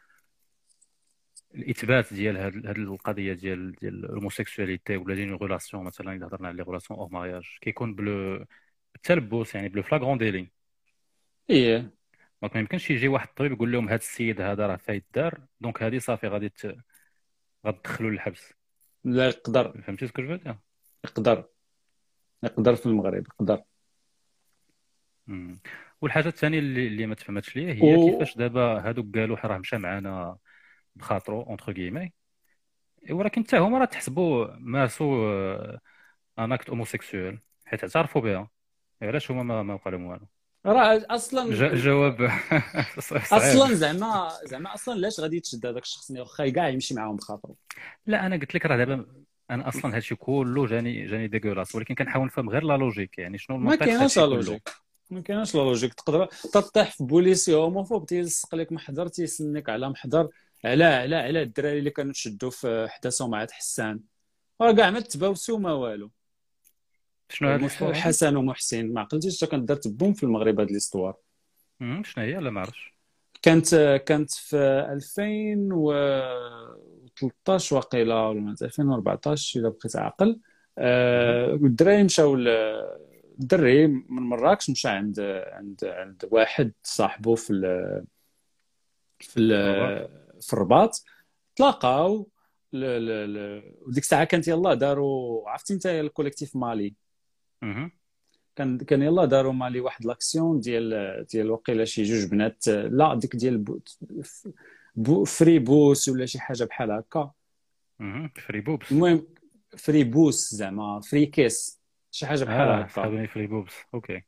الاثبات ديال هذه القضيه ديال الهوموسيكسواليتي ولا لي ريلاسيون، مثلا اذا هضرنا على لي ريلاسيون اور مارياج كيكون بالتلبس يعني بلو فلاغرون ديلي. ايه ما يمكنش يجي واحد الطبيب يقول لهم هذا السيد هذا راه فايت دار دونك هذه صافي غادي غتدخلوا للحبس. لا يقدر. فهمتي سكو جو دير؟ يقدر في المغرب يقدر. والحاجه الثانيه اللي ما تفهمتش ليا هي كيفاش دابا هادوك قالوا راه مشى معنا بخاطرو اونتر كيمي، ولكن حتى هما راه تحسبوا مارسوا ان اكت هوموسيكسوال حيت اعترفوا بها. علاش هما ما قالوا والو؟ راه اصلا الجواب اصلا زعما اصلا علاش غادي تشد هذاك الشخص واخا كاع يمشي معاهم بخاطرو؟ لا انا قلت لك راه دابا انا اصلا هادشي كله جاني ديغولاس، ولكن كنحاول نفهم غير لا لوجيك يعني شنو ما كايناش لا لوجيك. ما كايناش لا لوجيك. تقدر تطيح في بوليسي هوموفوب تيلصق لك محضر تيسنك على محضر على الدراري اللي كانوا تشدوا في حداثه مع حسان، راه كاع ما تباوسوا ما والو. شنو هاد حسن ومحسن ما عقلتيش حتى كانت دارت بوم في المغرب هاد ليستوار. شنو هي؟ لا ما عرفتش. كانت في 2013 واقيلا ولا 2014 الا بقيت عاقل. الدراري مشاو الدري من مراكش مشى عند واحد صاحبه في الرباط. تلاقاو وديك الساعه كانت يلاه داروا عرفتي انت الكوليكتيف مالي. كان يلاه داروا مالي واحد لاكسيون ديال وقيله شي جوج بنات، لا ديك ديال فري بوس ولا شي حاجه بحال هكا. فري بوبس. المهم فري بوس زعما فري كيس شي حاجه بحال هكا. خذوني فري بوبس اوكي.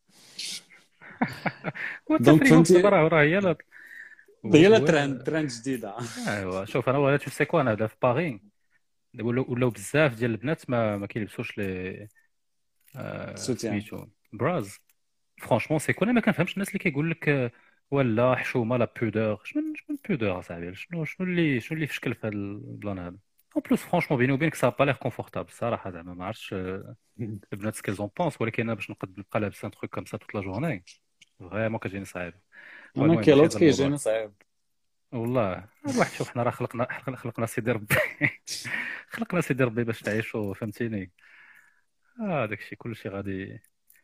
دونك فهمتي راه هي لا ترند جديده. ايوا شوف انا ولا تشوف سيكو انا في باغي ولاو بزاف ديال البنات ما كيلبسوش لي سميتو براز. فرانشمون سيكو انا ما كنفهمش الناس اللي كيقول لك ولا حشومه لا بودور. شنو بودور اصاحبي؟ شنو اللي في شكل في هذا البلان هذا؟ اون بلوس فرانشمون بيني وبينك سا با لير كونفورتابل الصراحه. زعما ما عرفتش البنات سكيزون بونس، ولكن انا باش نبقى لابس ان تروك كوم سا توت لا جورني فريمون كتجيني صعيب. انا كيلوت كيجيني صعيب والله. الواحد شوف حنا راه خلقنا سيدي ربي خلقنا سيدي ربي باش تعيشوا، فهمتيني. داكشي كلشي غادي.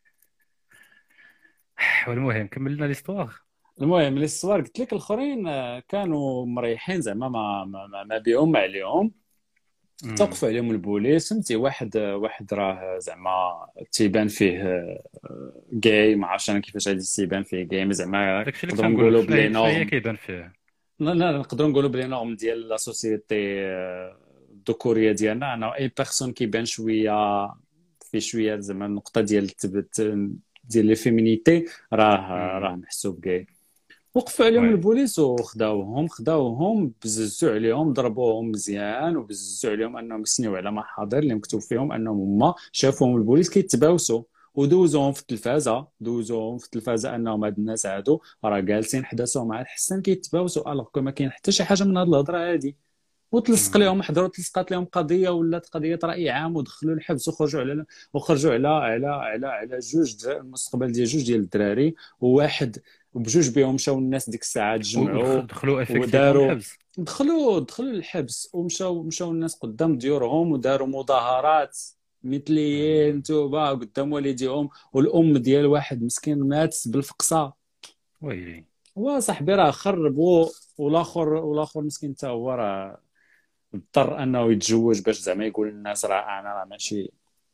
والمهم كملنا ليستواغ. المهم ليستوار قلت لك الاخرين كانوا مريحين زعما ما بيهم ما عليهم. توقفوا عليهم البوليس، فهمتي. واحد راه زعما تيبان فيه جاي، ما عرفتش انا كيفاش غادي تيبان فيه جاي، زعما داكشي اللي نقدروا نقولوا كنقول بلي شنو هي نورم. كيبان فيه. لا نقدروا نقولوا بلي نورم ديال لا سوسيتي الذكوريه ديالنا، انا اي بيرسون كيبان شويه في شويه زعما النقطه ديال ديال لي فيمينيتي راه محسوب جاي. وقفوا عليهم وي. البوليس وخداوهم بززوا عليهم، ضربوهم مزيان وبززوا عليهم انهم يسنيو على محاضر اللي مكتوب فيهم انهم هما شافوهم البوليس كيتباوسوا، ودوزوهم في التلفازه انهم هاد الناس هادو راه جالسين حداثوا مع الحسن كيتباوسوا، الوغ ما كاين حتى شي حاجه من هاد الهضره هادي. وتلصق لهم تلصقات لهم قضيه، ولات قضيه راي عام، ودخلوا الحبس وخرجوا على جوج المستقبل ديال جوج ديال الدراري، وواحد وبجوج بهم مشاو الناس ديك الساعه تجمعوا دخلوا افكتيفون وداروا الحبس. دخلوا الحبس، ومشاو الناس قدام ديورهم وداروا مظاهرات مثليين توبه قدام والديهم، والام ديال واحد مسكين مات بالفقصه. ويلي. وصاحبي راه خربوا، والاخر مسكين حتى هو راه اضطر انه يتزوج باش زعما يقول للناس انا راه ماشي.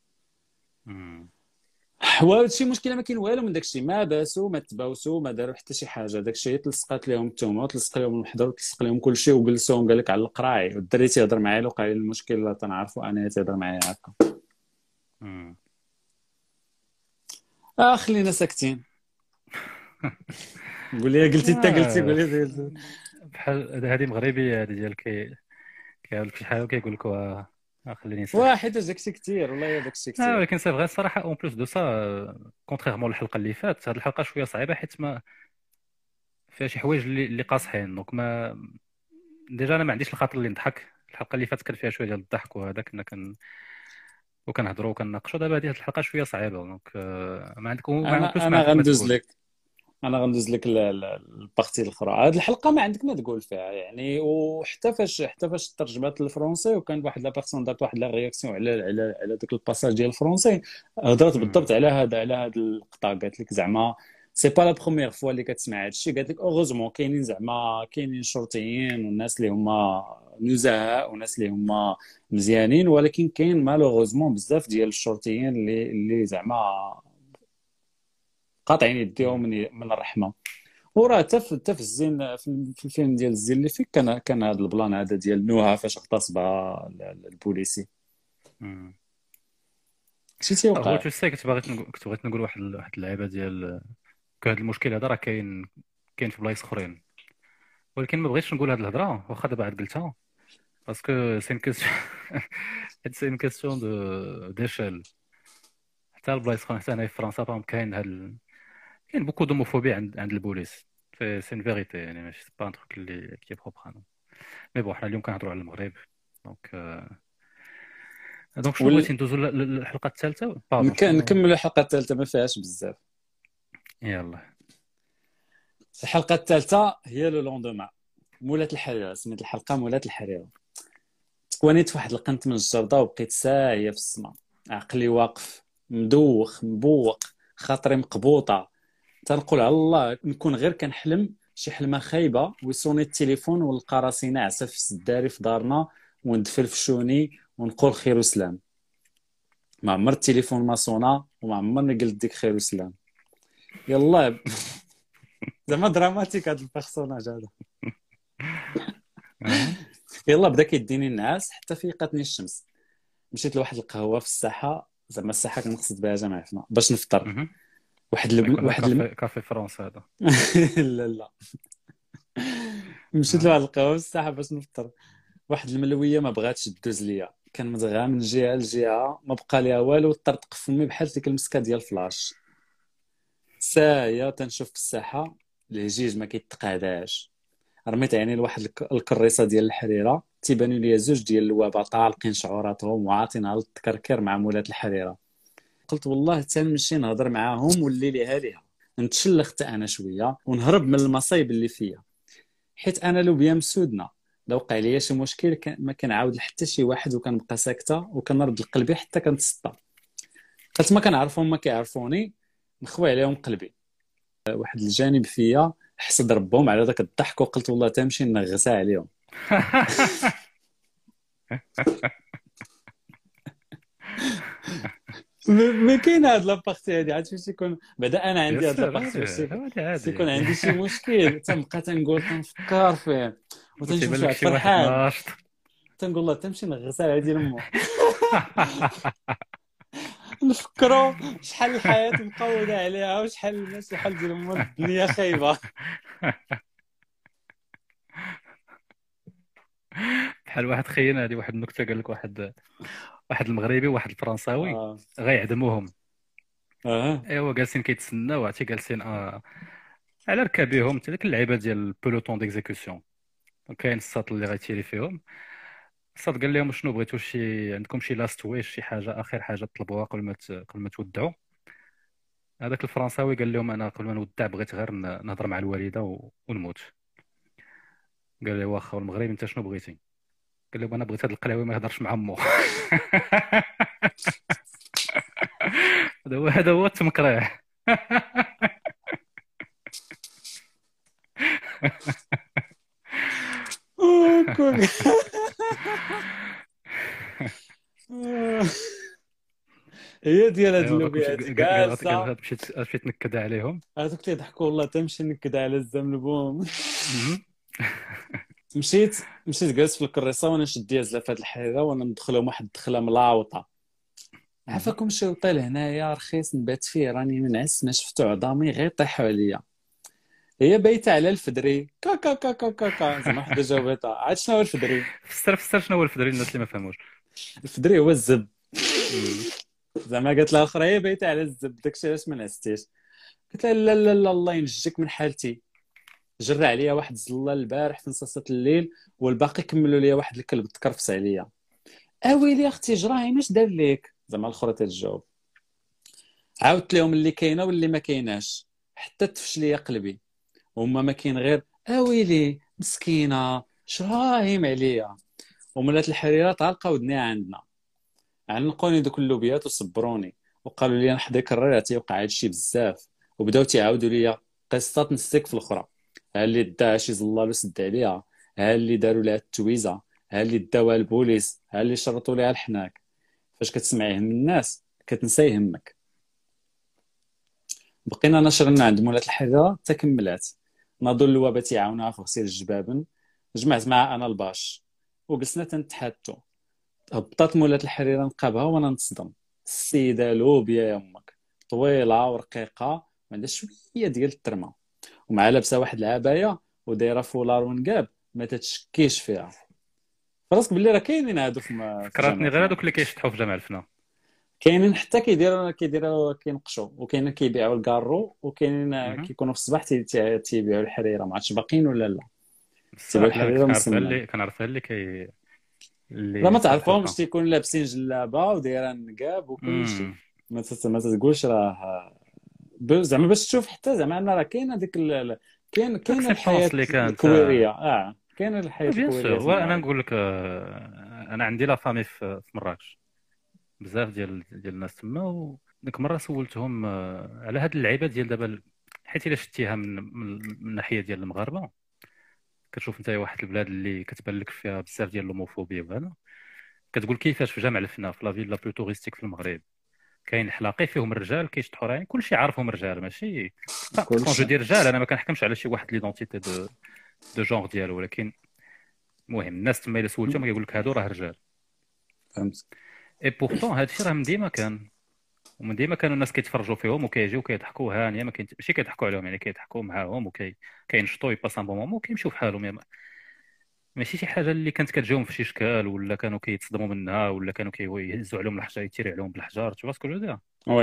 وهادشي مشكله، ما كاين والو من داكشي، ما باسوا ما تباوسوا ما داروا حتى شي حاجه. داكشي تلصقات لهم التهمه وتلصق لهم المحضر وتلصق لهم كلشي، وجلسوهم قال لك على القراعي، والدري تيهضر معايا لو قال لي المشكل لا تنعرفوا انا تيهضر معايا هكا. خلينا ساكتين. قول لي قلتي انت قلتي قول لي بحال هذه مغربيه هذه ديال كيقول لك شي حاجه وكيقول لك خليني نسال واحد داكشي كثير والله داكشي كثير. ولكن سي فغي الصراحه اون بلوس دو سا كونتريرمون الحلقه اللي فاتت، هذه الحلقه شويه صعيبه حيت ما فيها شي حوايج اللي قاصحين. دونك ما ديجا انا ما عنديش الخاطر اللي نضحك. الحلقه اللي فاتت كان فيها شويه ديال الضحك وهذا كنا وكنهضروا وكنناقشوا. دابا هذه الحلقه شويه صعيبه. دونك ما عندكم انا غندوز لك البارتي الاخرى. هذه الحلقه ما عندك ما تقول فيها يعني. وحتى فاش ترجمات للفرونسي، وكان واحد لا بيرسون دارت واحد لا رياكسيون على داك الباساج ديال الفرونسي، هضرت بالضبط على هذا اللقطه. قالت لك زعما سي با لا بروميير فوا اللي كتسمع هذا الشيء. قالت لك اوغوزمون كاينين شرطيين والناس اللي هما نزهاء وناس اللي هما مزيانين، ولكن كاين مالوغوزمون بزاف ديال الشرطيين اللي زعما قاطعين يديهم من الرحمه. وراه حتى في الزين في الفيلم ديال الزين اللي فيك كان هذا البلان هذا ديال نوها فاش اغتصبها البوليسي. شي تيوقع. هو تسي كنت بغيت نقول واحد اللعيبه ديال هذا المشكل هذا راه كاين في بلايص اخرين، ولكن ما بغيتش نقول هذه الهضره واخا دابا عاد قلتها، باسكو سي ان كيسيون ديشال. حتى البلايص اخرين، حتى هنا في فرنسا فهم كاين بوكو دوموفوبي عند البوليس. سي ان فيريتي يعني، ماشي با ان تروك اللي كي بروبر. مي بون حنا اليوم كنهضروا على المغرب. دونك شنو بغيتي ندوزو للحلقه الثالثه؟ نكملوا الحلقه الثالثه ما فيهاش بزاف. يلا الحلقه الثالثه هي لو لوندوما. مولات الحريره، سميت الحلقه مولات الحريره. تكوانيت في واحد القنت من الجرده وبقيت ساهيه في السماء، عقلي واقف مدوخ مبوق، خاطري مقبوطه. تنقول على الله نكون غير كنحلم شي حلمه خايبه، ويصوني التليفون ونلقى راسي ناعسه في السداري في دارنا وندفل في شوني ونقول خير وسلام. ما عمر التليفون ما صونا وما عمرني قلت ديك خير وسلام. يلا زعما دراماتيك هذا البيرسوناج هذا. يلا بدا كيديني النعاس حتى فيقاتني الشمس. مشيت لواحد القهوه في الساحه، زعما الساحه كنقصد بها جماعتنا، باش نفطر. كافي فرنسا هذا. لا مشيت لواحد القهوه في الساحه باش نفطر. واحد الملويه ما بغاتش تدوز ليا، كان مزغى من جهه لجهه ما بقى ليها والو، طرطق في فمي بحال ديك المسكه ديال فلاش. سايا تنشوف في الساحه الهجيج ما كيتقاداش. رميت عيني لواحد الكريصه ديال الحريره، تيبانوا لي زوج ديال اللوابه طالقين شعوراتهم وعاطينها للتكركر مع مولات الحريره. قلت والله تنمشي نهضر معاهم والليله هذه نتشلخ حتى انا شويه ونهرب من المصايب اللي فيا، حيت انا لو بيا مسودنا الا وقع ليا شي مشكل ما كنعاود لحتى شي واحد وكنبقى ساكته وكنرد لقلبي حتى كنتسطى. قلت ما كنعرفهم ما كيعرفوني نخوي عليهم قلبي. واحد الجانب فيا حسد ربهم على داك الضحك وقلت والله تمشي نغسها عليهم. ما كاين هاد لابارتي هادي عاد فاش يكون بعدا انا عندي هاد لابارتي فاش يكون عندي شي مشكل تنبقى تنقول تنفكر فيه وتنشوف شي فرحان تنقول الله تمشي نغسل هادي لمو. نفكروا شحال الحياه مقوده عليها وشحال الناس شحال ديال امور الدنيا خايبه. بحال واحد خينا هذه واحد النكته قال لك واحد المغربي وواحد الفرنساوي غيعدموهم. ايوا جالسين كيتسناو عرفتي جالسين على ركابيهم حتى ديك اللعيبه ديال البولوتون ديكزيكسيون. كاين الساط اللي غيتيري فيهم. الساط قال لهم شنو بغيتوا عندكم شي لاست ويش شي حاجه اخر حاجه تطلبوها قبل ما تودعوا. هذاك الفرنساوي قال لهم انا قبل ما نودع بغيت غير نهضر مع الوالده ونموت. قال له واخا المغرب انت شنو بغيتي؟ قال له انا بغيت هذا القلاوي ما يهضرش مع امو. هذا هو التمكريح. هي ديال هاد اللوبيات كاع مشيت تنكد عليهم هذوك تيضحكوا والله تمشي نكد على الزنبوم. مشيت جالس في الكريسه وانا نشد ديال زلافات الحريره وانا ندخلهم واحد الدخله ملاوطه. عافاكم شي وطيل هنايا رخيص نبات فيه راني منعس ما شفتو عظامي غير طيحوا عليا. هي بايته على الفدري كا كا كا كا كا كا زعما حدا جاوبتها. عاد شنو هو الفدري؟ فسر شنو هو الفدري الناس اللي ما فهموش. الفدري هو الزب. زعما قالت لها الاخرى هي بايته على الزب داكشي علاش ما نعستيش. قلت لها لا لا لا الله ينجيك من حالتي. جرى عليا واحد الزلال البارح في نصاصه الليل والباقي كملوا لي واحد الكلب تكرفس عليا. اويلي اختي جراهي اش دار ليك؟ زعما الاخرى تتجاوب. عاودت لهم اللي كاينه واللي ما كايناش حتى تفش ليا قلبي. هما ما كاين غير اويلي مسكينه شراهيم عليا. وملات الحريره طالقه ودنيها عندنا عنقوني دوك اللوبيات وصبروني وقالوا لي نحضي كرر تيوقع هادشي بزاف وبداو تيعاودوا لي قصه نسيك في الاخرى. ها اللي داها شي زلال وسد عليها، ها اللي داروا لها التويزه، ها اللي داوها البوليس، ها اللي شرطوا لها الحناك. فاش كتسمعيه من الناس كتنسى يهمك. بقينا نشرنا عند مولات الحريره حتى كملات. ناضوا اللوابه تيعاونوها في غسيل الجبابن. جمعت معها انا الباش وجلسنا تنتحدثوا. هبطات مولات الحريره نقابها وانا نتصدم. السيده لوبيا يا امك طويله ورقيقه وعندها شويه ديال الترمه ومع لابسه واحد العبايه ودايره فولار ونقاب ما تتشكيش فيها. فراسك باللي راه كاينين هادو فكرتني غير هذوك اللي كيشطحوا في جامع الفنا. كاينين حتى كيديروا كينقشوا وكاينين كيبيعوا الكارو وكاينين كيكونوا في الصباح تيبيعوا الحريره. ما عرفتش باقيين ولا لا. تيبيعوا الحريره مسمى. كنعرفها اللي لا ما تعرفهمش تيكونوا لابسين جلابه ودايره نقاب وكل شيء. ما تقولش راه زعما باش تشوف حتى زعما انا راه كاين هذيك كاين الحياه الكويريه. كاين الحياه الكويريه. وانا نقول لك انا عندي لا فامي في مراكش بزاف ديال الناس تما. وديك مره سولتهم على هاد اللعيبه ديال دابا حيت الا شتيها من الناحيه ديال المغاربه كتشوف انت واحد البلاد اللي كتبان لك فيها بزاف ديال اللوموفوبيا وهذا كتقول كيفاش في جامع الفنا في لا فيل لا بلو توريستيك في المغرب كاين حلاقي فيهم الرجال كيشطحوا راين كلشي عارفهم الرجال ماشي كون جو دير رجال. انا ما كنحكمش على شي واحد ليدونتيتي دو جونغ ديالو ولكن المهم الناس تما الا سولتهم كيقول لك هادو راه رجال. فهمت. اي بورتون هادشي راه من ديما كان ومن ديما كانوا الناس كيتفرجوا فيهم وكيجيو كيضحكوا هانيه ماشي كيضحكوا عليهم يعني كيضحكوا معاهم وكينشطوا يباس ان بون مومون وكيمشيو بحالهم. ماشي شي حاجه اللي كانت كتجاوم في شي شكال ولا كانوا كيتصدموا منها ولا كانوا كيهزوا عليهم الحجر يتيري عليهم بالحجار. تو باسكو جو دير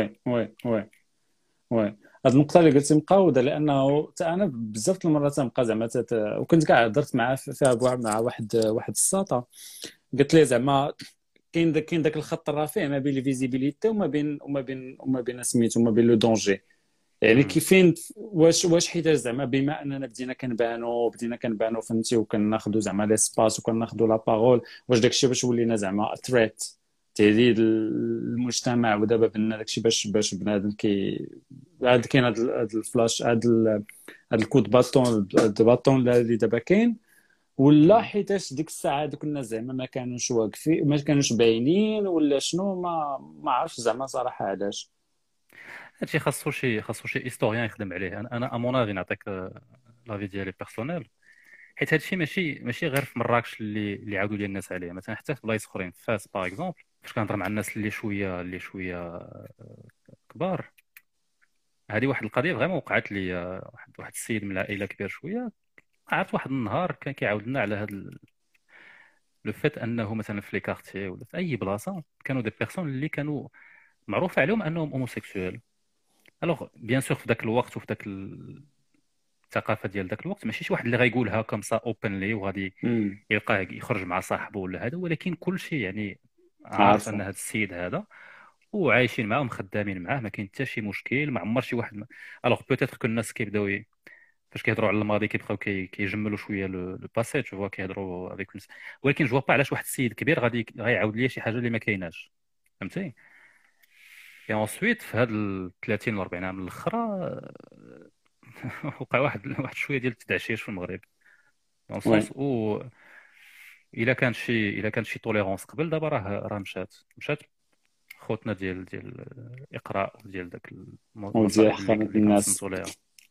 وي هاد النقطه اللي قلتي مقاوده لانه انا بزاف المرات تنبقى زعما وكنت كاع هضرت معاه فيها مع واحد الساطه قلت لي زعما كاين داك الخط الرفيع ما بين الفيزيبيليتي وما بين سميتو وما بين لو دونجي. يعني كيفين واش حيت زعما بما اننا بدينا كنبانو فهمتي وكناخذوا زعما ليسباس وكناخذوا لا بارول، واش داكشي باش ولينا زعما ثريت تهديد المجتمع، ودابا بان داكشي باش بنادم كاين هاد الفلاش هاد الكود باطون اللي دابا كاين، ولا حيتاش ديك الساعه دوك الناس زعما ما كانوش واقفين ما كانوش باينين ولا شنو، ما عرفتش زعما صراحه علاش. هادشي خاصو شي هيستوريان يخدم عليه. انا امون افي نعطيك لافي ديالي بيرسونيل، حيت هادشي ماشي غير في مراكش اللي عاودوا لي الناس عليه، مثلا حتى في بلايص اخرين، في فاس باغ اكزومبل، فاش كنهضر مع الناس اللي شويه كبار، هذه واحد القضيه فريمون وقعت لي. واحد السيد من العائله كبير شويه، عرفت واحد النهار كان كيعاود لنا على هذا لو فيت انه مثلا في لي كارتي ولا في اي بلاصه كانوا دي بيرسون اللي كانوا معروف عليهم انهم هوموسيكسويل. الوغ بيان سور في ذاك الوقت وفي ذاك الثقافه ديال ذاك الوقت ماشي شي واحد اللي غايقولها كوم سا اوبنلي وغادي يلقاه يخرج مع صاحبه ولا هذا، ولكن كل شيء يعني عارف ان هذا السيد هذا وعايشين معاه ومخدامين معاه، ما كاين حتى شي مشكل، ما عمر شي واحد الوغ بوتيتر كو الناس كيبداو فاش كيهضروا على الماضي كيبقاو كيجملوا شويه لو باسي تو كيهضروا افيك، ولكن جو با علاش واحد السيد كبير غيعاود لي شي حاجه اللي ما كايناش، فهمتي. اي انسويت في هاد 30 و 40 عام الاخرى وقع واحد شويه ديال التدعشيش في المغرب، دون سونس او الا كان شي توليرونس قبل، دابا راه مشات خوتنا ديال الاقراء ديال داك المصائب اللي كنصنتوا ليها.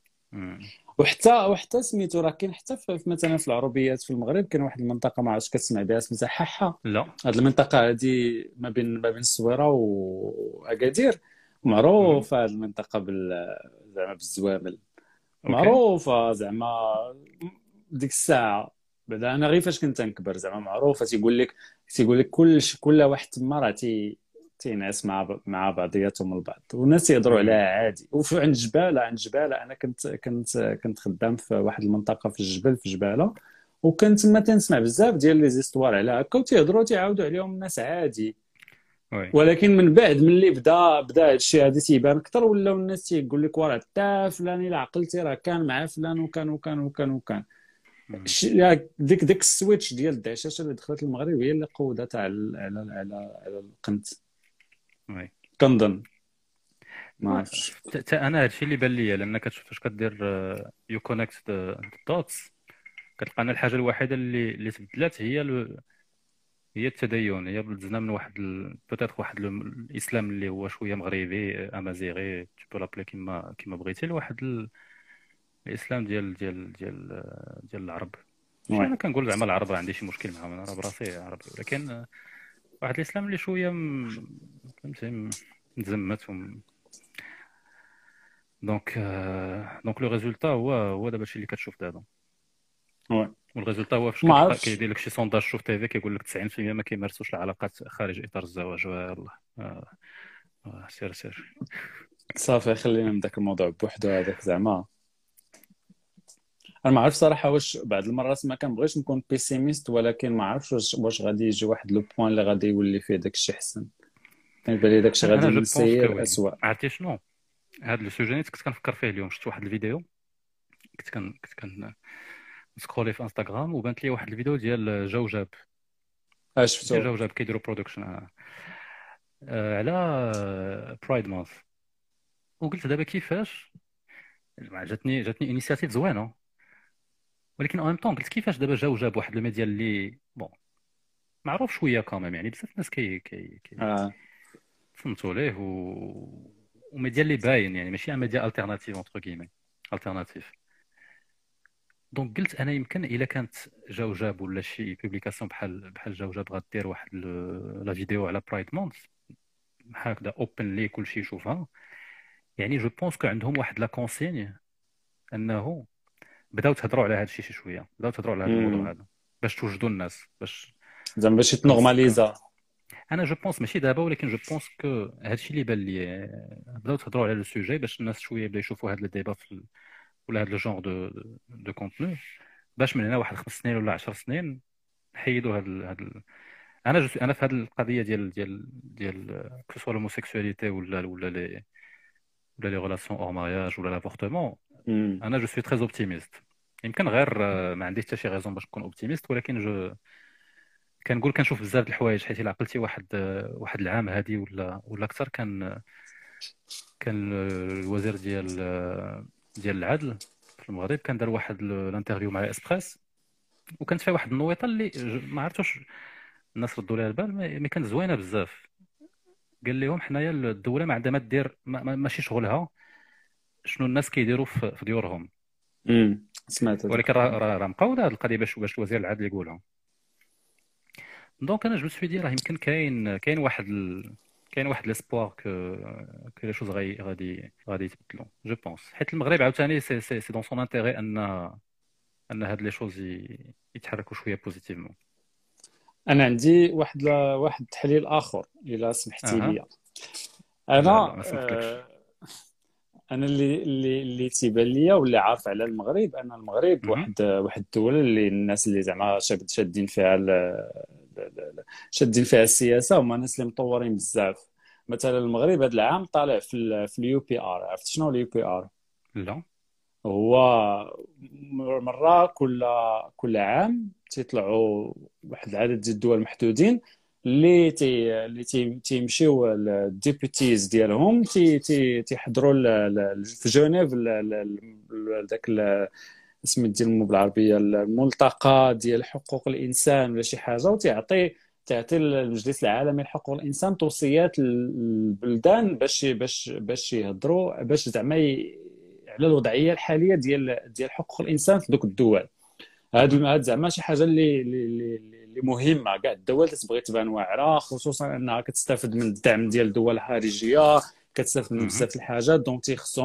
وحتى سميتو راه كاين حتى مثلا في العربيات في المغرب كاين واحد المنطقه ما عرفتش كتسمع بها سميتها حاحه. لا هاد المنطقه هادي ما بين الصويره واكادير، معروفه هاد المنطقه زعما بالزوامل، معروفه زعما ديك الساعه. بعدا انا غير فاش كنت نكبر زعما معروفه، تيقول لك كل واحد تما راه تينعس مع بعضياتهم البعض، والناس تيهضروا عليها عادي. وفي عند جباله انا كنت خدام في واحد المنطقه في الجبل في جباله، وكنت تما تنسمع بزاف ديال لي زيستوار على هكا وتيهضروا تيعاودوا عليهم الناس عادي. ولكن من بعد ملي بدا هادشي هادي تيبان اكثر، ولاو الناس تيقول لك وراه حتى فلان الا عقلتي راه كان مع فلان وكان ديك السويتش ديال الدعشاشه اللي دخلت المغرب هي اللي قودت على القنت. كنظن ما عرفتش انا هادشي اللي بان ليا، لان فاش كدير يو كونيكت دوتس كتلقى ان الحاجه الوحيده اللي تبدلات هي التدين، هي بلزنا من واحد بوتيتر واحد الاسلام اللي هو شويه مغربي امازيغي تو لابلي كيما بغيتي، لواحد الاسلام ديال العرب. انا كنقول زعما العرب عندي شي مشكل معاهم، انا براسي عربي، ولكن واحد الاسلام اللي شويه فهمتي متزمت دونك لو ريزولتا هو دابا الشيء اللي كتشوف دابا. والريزولتا هو فاش كيدير لك شي سونداج شوف تي في كيقول لك 90% ما كيمارسوش العلاقات خارج اطار الزواج. والله سير صافي خلينا من داك الموضوع بوحدو هذاك. زعما انا ما عرفت صراحه واش بعض المرات ما كنبغيش نكون بيسيميست، ولكن ما عرفتش واش غادي يجي واحد لو بوين اللي غادي يولي فيه داك الشيء حسن. كنبان لي داك الشيء غادي يسير اسوء. عرفتي شنو هذا لو سوجي كنت كنفكر فيه اليوم؟ شفت واحد الفيديو كنت سكرولي في انستغرام وبانت لي واحد الفيديو ديال جوجاب. شفتو جوجاب كيديروا برودكشن على برايد مانث، وقلت دابا كيفاش جاتني انيشياتيف زوينه، ولكن اون طون قلت كيفاش دابا جاب واحد الميديا اللي بون معروف شويه كامل، يعني بزاف الناس كي فهمتوا ليه وميديا اللي باين، يعني ماشي ميديا التيرناتيف اونتر كيمي التيرناتيف. دونك قلت انا يمكن الا كانت جاب ولا شي بوبليكاسيون بحال جاب غدير واحد لا فيديو على برايد مونث هكذا اوبن لي كلشي يشوفها، يعني جو بونس كو عندهم واحد لا كونسيني انه بداو تهضروا على هذا الشيء شي شويه، بداو تهضروا على هذا الموضوع هذا باش توجدوا الناس، باش يتنورماليزا. انا جو بونس ماشي دابا، ولكن جو بونس كو هذا الشيء اللي بان لي بداو تهضروا على لو سوجي باش الناس شويه بداو يشوفوا هذا الديبا ولا هذا الجونغ دو كونتوني، باش من هنا واحد 5 سنين ولا 10 سنين نحيدوا هذا انا في هذه القضيه ديال كسوا الهوموسيكسواليتي ولا ولا لي غولاسيون اور مارياج ولا لافورتمون، انا جو سوي تري اوبتيميست. يمكن غير ما عنديش حتى شي غيزون باش نكون اوبتيميست، ولكن جو كنقول كنشوف بزاف د الحوايج. حيت الا عقلتي واحد العام هادي ولا اكثر، كان الوزير ديال العدل في المغرب كان دار واحد الانترفيو مع اسبريس، وكانت فيها واحد النويطه اللي ما عرفتوش الناس ردوا لها البال، مي كانت زوينه بزاف. قال لهم حنايا الدوله ما عندها ما دير، ماشي شغلها شنو الناس كيديروا في ديورهم. سمعت هذا. ولكن راه مقاوله هذه القضيه باش وزير العدل يقولها. دونك انا جو سوي دي راه يمكن كاين واحد ليسبوار كو لي شوز غادي يتبدلوا جو بونس. حيت المغرب عاوتاني سي دون سون انتيغي ان هاد لي شوز يتحركوا شويه بوزيتيفمون. انا عندي واحد التحليل اخر الا سمحتي لي. انا انا اللي تيبان ليا واللي عارف على المغرب، ان المغرب واحد الدوله اللي الناس اللي زعما شادين فيها السياسه هما الناس اللي مطورين بزاف. مثلا المغرب هذا العام طالع في اليو بي ار. عرفت شنو اليو بي ار؟ لا، هو مره كل عام تيطلعوا واحد العدد ديال الدول محدودين اللي تيمشيو الديبوتيز ديالهم تيحضروا في جنيف داك اسم ديال بالعربيه الملتقى ديال حقوق الانسان ولا شي حاجه، وتعطي المجلس العالمي لحقوق الانسان توصيات للبلدان باش يهضروا باش زعما على الوضعيه الحاليه ديال حقوق الانسان في دوك الدول. هاد زعما شي حاجه اللي مهمه. كاع الدول تبغي تبان واعره، خصوصا انها كتستافد من الدعم ديال الدول الخارجيه، كتستافد من بزاف الحاجات. دونك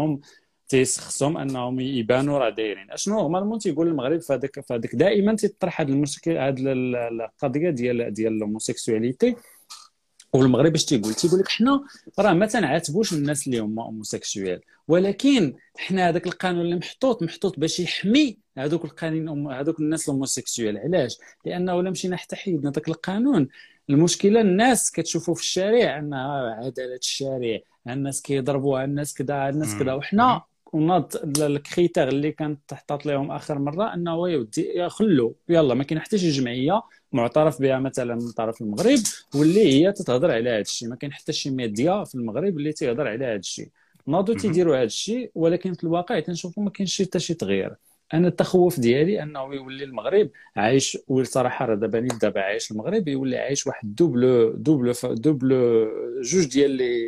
تيخصهم انهم يبانوا راه دايرين اشنو. نورمالمون تيقول المغرب فهذاك دائما تيطرح هذا المشكل، هذه القضيه ديال الهوموسيكسواليتي. والمغرب اش تيقول لك حنا راه ما تنعاتبوش الناس اللي هما هوموسيكسوال، ولكن حنا هذاك القانون اللي محطوط باش يحمي هذوك القانون هذوك الناس الهوموسيكسوال. علاش؟ لانه الا مشينا حتى حيدنا ذاك القانون، المشكله الناس كتشوفوا في الشارع انها عداله الشارع، الناس كيضربوها، الناس كذا وحنا وناض الكريتير اللي كانت تحطات لهم اخر مره انه يودي خلوا يلا ما كاين حتى شي جمعيه معترف بها مثلا من طرف المغرب واللي هي تتهضر على هذا الشيء. ما كاين حتى شي ميديا في المغرب اللي تيهضر على هذا الشيء. ناضوا تيديروا هذا الشيء، ولكن في الواقع تنشوفوا ما كاينش حتى شي تغيير. انا التخوف ديالي انه يولي المغرب عايش، والصراحه راه دابا عايش المغرب يولي عايش واحد دوبل جوج ديال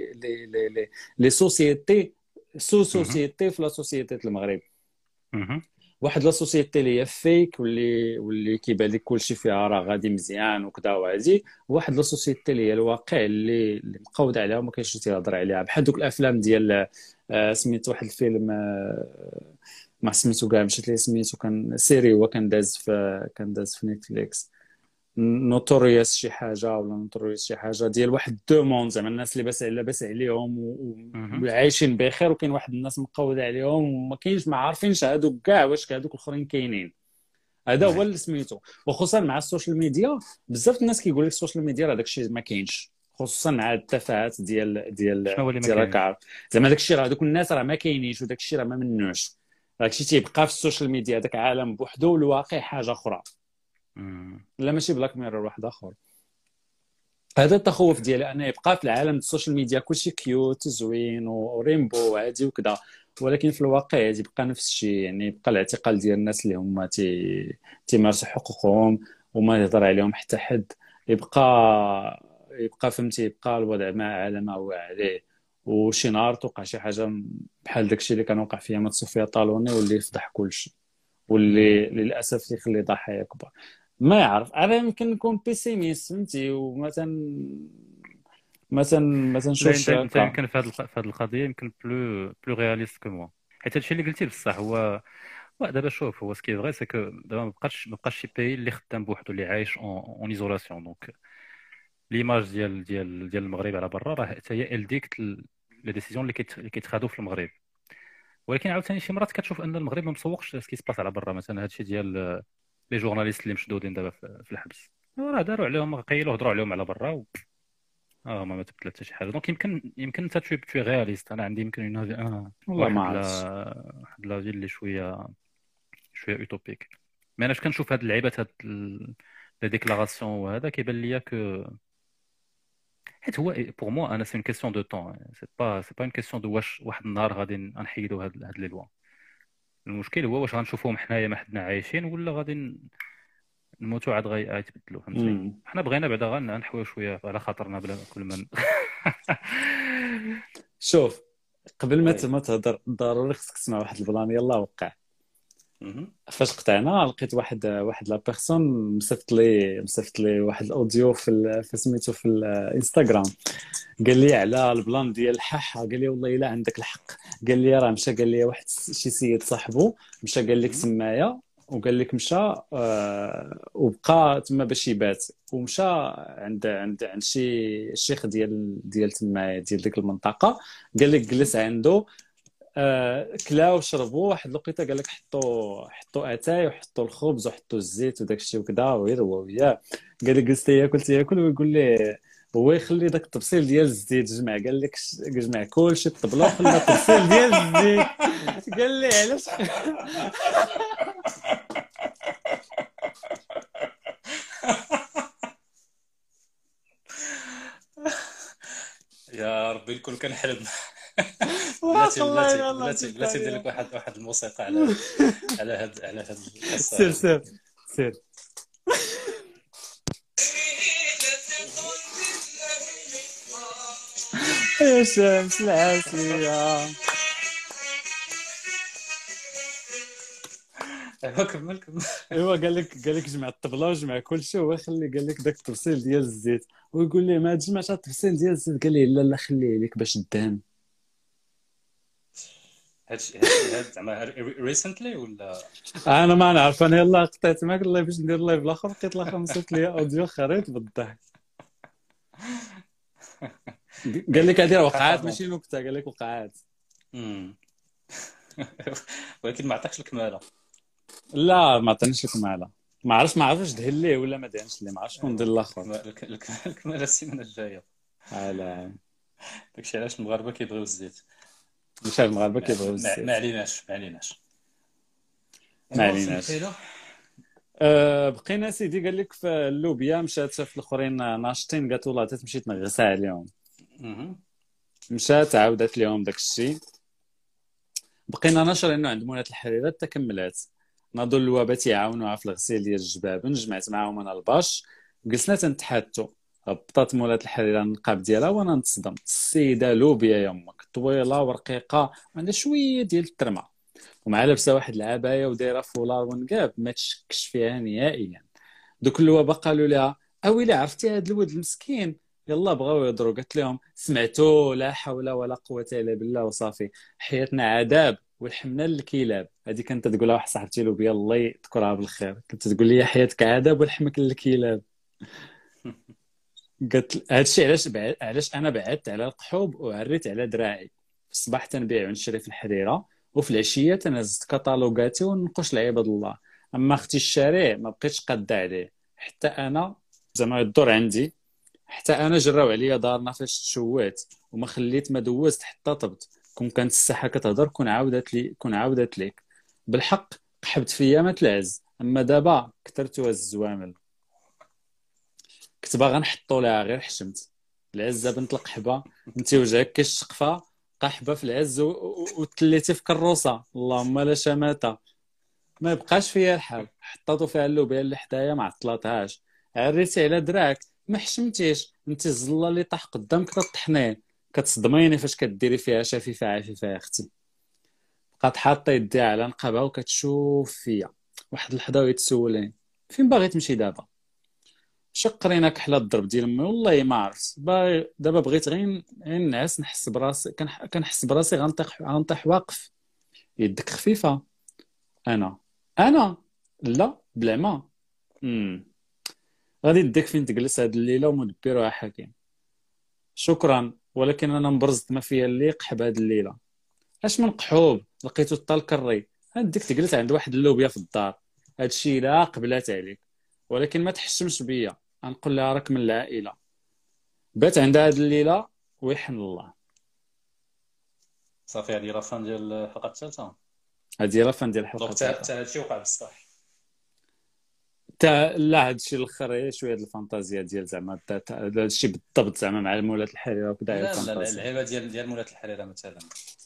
لي سوسيتي سوسيتي في لا سوسيتي المغرب. واحد لا سوسيتي اللي هي فيك واللي كيبان لك كلشي فيها راه غادي مزيان وكذا وهادي، واحد لا سوسيتي اللي هي الواقع اللي مقود عليها وما كاينش تيهضر عليها. بحال دوك الافلام ديال سميت واحد الفيلم ما سميتو كاع، مشيت ليه سميتو، كان سيري هو كان داز في نيتفليكس، نوتوريوس شي حاجه ولا نوتوريوس شي حاجه ديال واحد دو موند، زعما الناس اللي لاباس عليهم وعايشين بخير، وكاين واحد الناس مقوده عليهم وما كاينش ما عارفينش هادوك كاع واش هادوك الاخرين كاينين. هذا هو اللي سميتو. وخصوصا مع السوشيال ميديا بزاف الناس كيقول لك السوشيال ميديا راه داكشي ما كاينش، خصوصا مع التفاهات ديال راك عارف زعما داكشي راه دوك الناس راه ما كاينينش وداكشي راه ما منوش. داكشي تيبقى في السوشيال ميديا، داك عالم بوحدو والواقع حاجه اخرى. لا ماشي بلاك ميرور واحد اخر. هذا التخوف ديالي انه يبقى في العالم السوشيال ميديا كلشي كيوت زوين وريمبو وهادي وكذا، ولكن في الواقع يبقى نفس الشيء. يعني يبقى الاعتقال ديال الناس اللي هما تيمارسوا حقوقهم وما يهضر عليهم حتى حد، يبقى فهمتي، يبقى الوضع على ما هو عليه. وشي نهار توقع شي حاجه بحال داكشي اللي كان وقع في صوفيا طالوني واللي يفضح كلشي، واللي للاسف يخلي ضحايا كبار. ما يعرف، انا يمكن نكون بيسيميست فهمتي، ومثلا مثلا نشوف انت يمكن في هذه القضيه يمكن بلو رياليست كو موا. حيت هادشي اللي قلتي بصح هو دابا شوف، هو سكي فغي سي كو دابا ما بقاش شي باي اللي خدام بوحدو اللي عايش اون ايزولاسيون. دونك ليماج ديال المغرب على برا راه حتى هي الديكت لي ديسيزيون اللي كيتخادوا في المغرب. ولكن عاوتاني شي مرات كتشوف ان المغرب ما مسوقش سكي سباس على برا. مثلا هادشي ديال لي جورناليست اللي مشدودين دابا في الحبس، راه داروا عليهم قيلوا هضروا عليهم على برا ما تبدل حتى شي حاجه. دونك يمكن انت توي رياليست. انا عندي يمكن والله ما واحد عرفتش. واحد لا اللي شويه اوتوبيك. مي انا كنشوف هاد اللعيبات، هاد لي ديكلاراسيون وهذا كيبان ليا حيت هو بور موا انا سي اون كيسيون دو طون. سي با اون كيسيون دو واش واحد النهار غادي نحيدوا هاد لي لوا. المشكل هو واش غنشوفوهم حنايا ما حدنا عايشين، ولا غادي نموتوا عاد غيتبدلوا. فهمتي؟ حنا بغينا بعدا غنحويو شويه على خاطرنا بلا كل من شوف، قبل ما تهضر ضروري خصك تسمع واحد البلان. يلا وقع. فاش قطعنا لقيت واحد لا بيرسون مصيفط لي واحد الاوديو في سميتو في الانستغرام. قال لي على البلان ديال الحاحه. قال لي والله الا عندك الحق. قال لي راه مشى، قال لي واحد شي سيد صاحبه مشى قال لك سمايه، وقال لك مشى وبقى تما باش يبات، ومشى عند شي شيخ ديال تما ديال ديك المنطقه. قال لك جلس عنده، كلاو وشربوا واحد الوقيته. قال لك حطوا اتاي وحطوا الخبز وحطوا الزيت وداك الشيء وكذا ويروى وياه. قال لك جلست ياكل ويقول لي هو يخلي داك التبصيل ديال الزيت جمع. قال لك جمع كلشي الطبله وخلى التبصيل ديال الزيت. قال لي علاش؟ يا ربي الكل كنحلم. بلاتي ندير لك واحد الموسيقى على هاد القصه. سير يا شمس العاسية. كمل. ايوا قال لك جمع الطبله وجمع كلشي، هو خلي قال لك داك التبصيل ديال الزيت، ويقول لي ما تجمعش التبصيل ديال الزيت. قال لي لا خليه لك باش الدهن. هادشي زعما ريسنتلي ولا انا ما نعرف. انا يلا قطعت معاك الله باش ندير لايف الاخر، لقيت الاخر مصيفط لي اوديو خريط بالضحك. قال لك هذه وقعات ماشي نكته. قال لك وقعات. ولكن ما عطاكش الكماله. لا ما عطانيش الكماله. ما عرفتش دهن ليه ولا ما دهنش ليه. ما عرفتش شكون ندير الاخر. الكماله السيمانه الجايه. لا داكشي علاش المغاربه كيبغيو الزيت. مش المغاربه كيبغيو الزيت. ما عليناش. بقينا سيدي. قال لك في اللوبيا مشات شاف الاخرين ناشطين، قالت والله تمشي تنغسها عليهم. مشات عاودت لهم داك الشيء. بقينا ناشرينو عند مولات الحريره حتى كملات. ناضوا الوابه تيعاونوها في الغسيل ديال الجبابن. جمعت معاهم انا الباش، جلسنا تنتحاتو. هبطات مولات الحريره النقاب ديالها وانا نتصدم. السيده لوبيا يمك طويله ورقيقه وعندها شويه ديال الترمه، ومع لابسه واحد العبايه ودايره فولار ونقاب ما تشكش فيها نهائيا. دوك الوابه قالوا لها اويلي عرفتي هذا الولد المسكين؟ يلا بغاو يهضروا. قالت لهم سمعتوا لا حول ولا قوه الا بالله وصافي. حياتنا عذاب والحمنا للكلاب. هذه كانت تقولها واحد صاحبتي لوبيا الله يذكرها بالخير. كانت تقول لي حياتك عذاب والحمك للكلاب. قالت هادشي علاش انا بعدت على القحوب وعريت على دراعي. في الصباح تنبيع ونشري في الحريره، وفي العشيه تنزت كطالوغاتي وننقش لعباد الله. اما اختي الشارع ما بقيتش قاده عليه. حتى انا زعما الدور عندي، حتى انا جراو عليا دارنا فاش تشوات وما خليت ما دوزت حتى طبت. كون كانت الساحه كتهضر كون عاودت ليك بالحق. قحبت فيا ما تلعز، اما دابا كثرتوا الزوامل. كنت باغا نحطوا لها غير حشمت. العزه بنت القحبه انت وجهك كالشقفه قحبه في العز وتليتي في كروسه. اللهم لا شماته. ما بقاش فيها الحال. حطاتو فيها اللوبيا اللي حدايا ما عطلاتهاش. عريتي على دراك ما حشمتيش. انت الزله اللي طاح قدامك تطحنيه. كتصدميني فاش كديري فيها شفيفه عفيفه يا اختي. بقات حاطه يديها على نقابها وكتشوف فيا واحد اللحظه ويتسولني فين باغي تمشي دابا. شقرينا كحله الضرب ديال امي والله ما عرفت. دابا بغيت غير نعس نحس براسي. كنحس براسي غنطيح واقف. يدك خفيفه. انا لا بلا غادي يديك فين تجلس هاد الليله ومدبرها حكيم. شكرا ولكن انا مبرزت ما فيا اللي قحب هاد الليله. اش من قحوب لقيتو الطال كري. هاديك تجلس عند واحد اللوبيا في الدار. هادشي لا قبلات عليك. ولكن ما تحشمش بيا. غنقول لها راك من العائله. بات عندها هاد الليله ويحن الله. صافي هذه لا فان ديال الحلقه الثالثه. هادي راه فان ديال الحلقه دونك حتى هادشي وقع بصح. لا هادشي الاخر هي شويه د الفانتازيا ديال زعما هادشي بالضبط زعما مع مولاة الحريره وكذا. لا اللعيبه ديال مولاة الحريره مثلا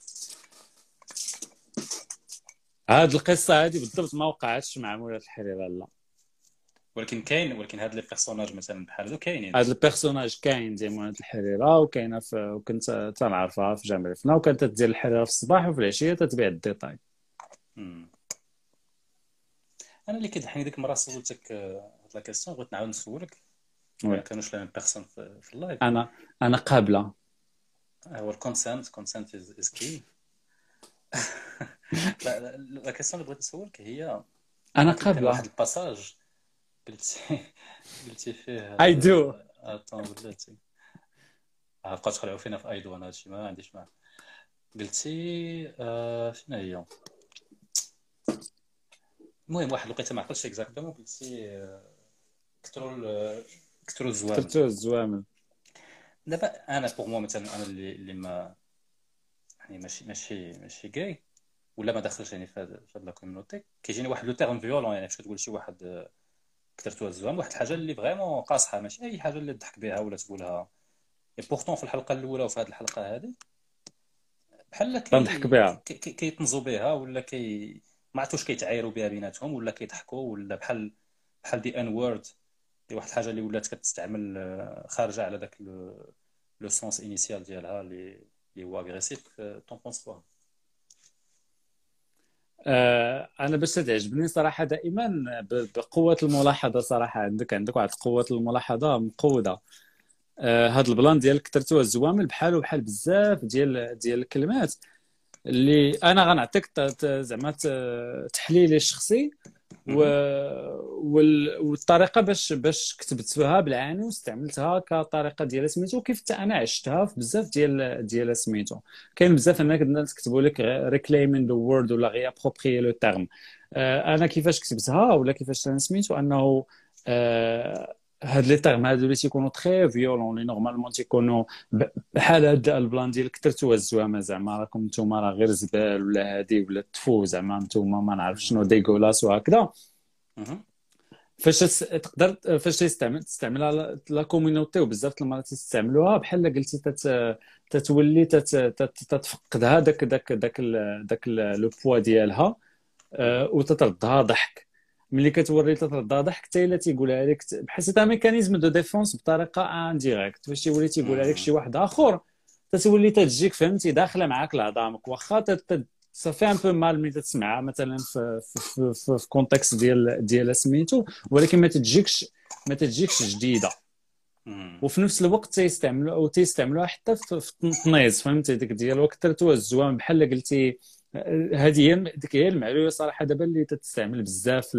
هاد القصه هادي بالضبط ما وقعتش مع مولاة الحريره لا، ولكن هاد لي بيرسوناج مثلا بحال هادو كاينين. هاد البيرسوناج كاين ديال مولاة الحريره وكاينه وكنت تنعرفها في جامع الفنا وكانت تدير الحريره في الصباح وفي العشيه تتبيع الديتاي. انا اللي كيضحكني ديك المره سولتك هاد لا كيسيون بغيت نعاود نسولك ما كانوش لا ميم بيرسون في اللايف. انا قابله هو الكونسنت از كي. لا كيسيون اللي بغيت نسولك هي انا قابله واحد الباساج قلتي فيه اي دو بلاتي بقاو تخلعوا فينا في ايدو. انا هادشي ما عنديش معاه. قلتي شنو هي المهم واحد الوقيته ما عقلتش اكزاكتومون قلتي كثروا الزوامل. دابا انا بوغ مو مثلا انا اللي ما يعني ماشي كاي ولا ما دخلش يعني في هاد لا كوميونيتي كيجيني واحد لو تيرم فيولون يعني فاش تقول شي واحد كثرتوا الزوام واحد الحاجه اللي فريمون قاصحه ماشي اي حاجه اللي تضحك بها ولا تقولها. بورتون في الحلقه الاولى وفي هذه الحلقه هذه بحال كنضحك بها كيطنزوا بها ولا ما عرفتوش كيتعايروا بها بيناتهم ولا كيضحكوا ولا بحال دي ان وورد دي واحد الحاجه اللي ولات كتستعمل خارجه على داك لو سونس انيسيال ديالها اللي هو اغريسيف. طون بونس كوا؟ انا باش تعجبني صراحه دائما بقوه الملاحظه صراحه عندك واحد قوه الملاحظه مقوده. هاد البلان ديال كثرتوا الزوامل بحال بزاف ديال الكلمات اللي انا غنعطيك زعما تحليلي الشخصي والطريقه باش كتبتها بالعاني واستعملتها كطريقه ديال سميتو وكيف حتى انا عشتها في بزاف ديال سميتو. كاين بزاف الناس كتبوا لك ريكليمين ذا وورد ولا غي ابروبريي لو تيرم. انا كيفاش كتبتها ولا كيفاش انا سميتو انه هاد لي تيرم هادو اللي تيكونوا تري فيولون اللي نورمالمون تيكونوا بحال هاد البلان ديال كثرتوا الزوامه زعما راكم نتوما راه غير زبال ولا هادي ولا تفو زعما نتوما ما نعرف شنو ديغولاس وهكذا. فاش تقدر فاش تستعملها لا كوميونيتي وبزاف المرات تستعملوها بحال قلتي تتولي تتفقدها داك لو بوا ديالها وتتردها ضحك. ملي كتوري تتردها ضحك حتى الا تيقولها لك بحال سيتا ميكانيزم دو ديفونس بطريقه انديريكت. فاش تيولي تيقولها لك شي واحد اخر تتولي تجيك فهمتي داخله معاك لعظامك واخا صافي ان بو مال ملي تسمعها مثلا في كونتكست ديال سميتو ولكن ما تجيكش جديده. وفي نفس الوقت تيستعملوها حتى في التنيز فهمتي ديك ديال وكثرتوا الزوام بحال قلتي. هذه هي المعلومه صراحه دابا اللي تستعمل بزاف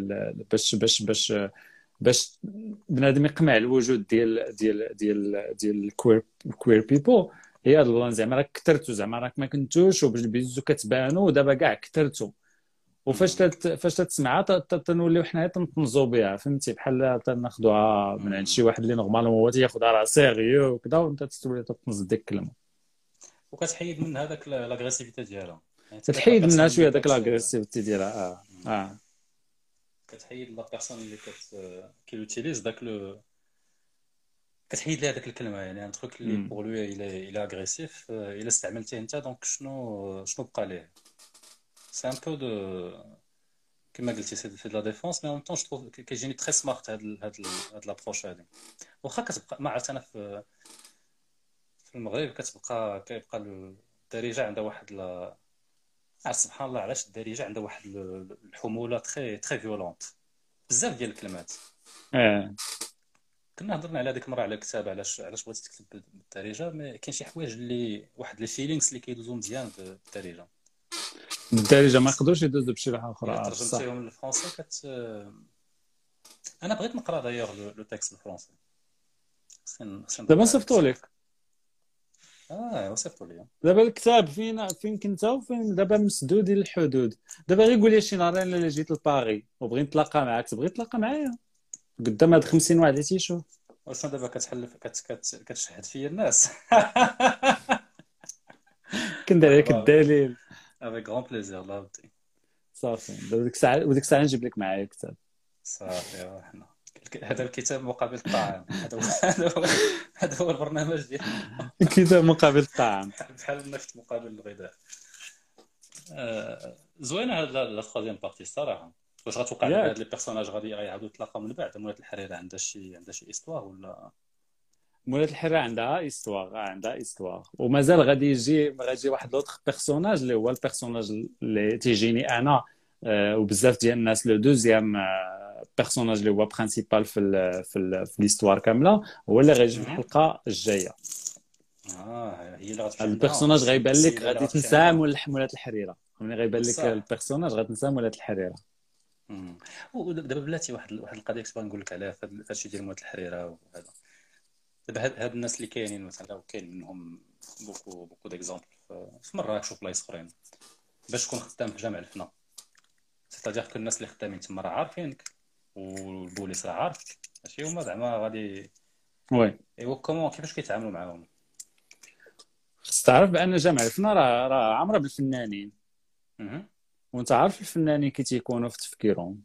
باش بنادم يقمع الوجود ديال الكوير بيبل. هي هاد البلان زعما راك كثرتو زعما راك ما كنتوش وبالبيزو كتبانوا ودابا كاع كثرتو. وفاش تسمعها تنوليو حنايا تنطنزو بها فهمتي بحال تناخذوها من عند شي واحد اللي نورمالمون هو تياخذها راه سيريو وكذا وانت تولي تطنز ديك الكلمه وكتحيد من هذاك لاغريسيفيتي ديالها. تحيد منها شويه داك لاغريسيفيتي ديالها. كتحيد لا بيرسون اللي كيوتيليز داك لو كتحيد لها داك الكلمه يعني ان تروك اللي بور لو الى اغريسيف الا استعملتيه انت دونك شنو بقى ليه. سي ان بو دو كما قلتي سي لا ديفونس مي ان طون جو كيجيني تري سمارت هاد لابروش هادي. واخا كتبقى ما عرفت انا في المغرب كيبقى الدارجه عندها واحد سبحان الله علاش الدارجه عندها واحد الحموله تري فيولونت بزاف ديال الكلمات. كنا هضرنا على ديك المره على كتاب علاش بغيتي تكتب بالدارجه مي كاين شي حوايج اللي واحد لي فيلينغز اللي كيدوزو مزيان بالدارجه ما يقدروش يدوزو بشي لغه اخرى. ترجمتيهم للفرنسي انا بغيت نقرا دايوغ لو تكست بالفرنسي دابا صيفطو لك. وصفتوا لي دابا الكتاب فين كنت وفين دابا مسدود الحدود. دابا غير قول لي شي نهار الا جيت لباري وبغيت نتلاقى معاك تبغي تلاقى معايا قدام هاد 50 واحد اللي تيشوف واش دابا كتحلف كتشهد فيا الناس؟ كندير عليك الدليل. افيك غون بليزير لا ودي. صافي وديك الساعه نجيب لك معايا كتاب. صافي حنا هذا الكتاب مقابل الطعام. هذا هو البرنامج ديالنا. الكتاب مقابل الطعام بحال النفط مقابل الغذاء. زوينه هاد لا ثروزيام بارتي الصراحه. واش غتوقع هاد لي بيرسوناج غادي يعاودوا يتلاقاو من بعد؟ مولات الحريره عندها شي استوار ولا؟ مولات الحريره عندها استوار ومازال غادي يجي واحد لوطخ بيرسوناج اللي هو البيرسوناج اللي تيجيني انا وبزاف ديال الناس. لو دوزيام بيرسوناج اللي هو برينسيبال في ليستوار كامله هو اللي غيجي في الحلقه الجايه. هي اللي غتمشي. البيرسوناج غيبان لك غادي تنساه مولات الحريره. ملي غيبان لك البيرسوناج غتنساه مولات الحريره. ودابا بلاتي واحد القضيه كنت بغا نقول لك عليها في هادشي ديال مولات الحريره وهذا. دابا هاد الناس اللي كاينين مثلا وكاين منهم بوكو ديكزامبل في مراكش وفي بلايص اخرين باش تكون خدام في جامع الفنا. سيتادير كو الناس اللي خدامين تما راه عارفينك والبوليس راه عارف ماشي هما زعما غادي. وي ايوا كومون كيفاش كيتعاملوا معاهم؟ خص تعرف بان جامع الفنا راه عامره بالفنانين. وانت عارف الفنانين كي تيكونوا في تفكيرهم.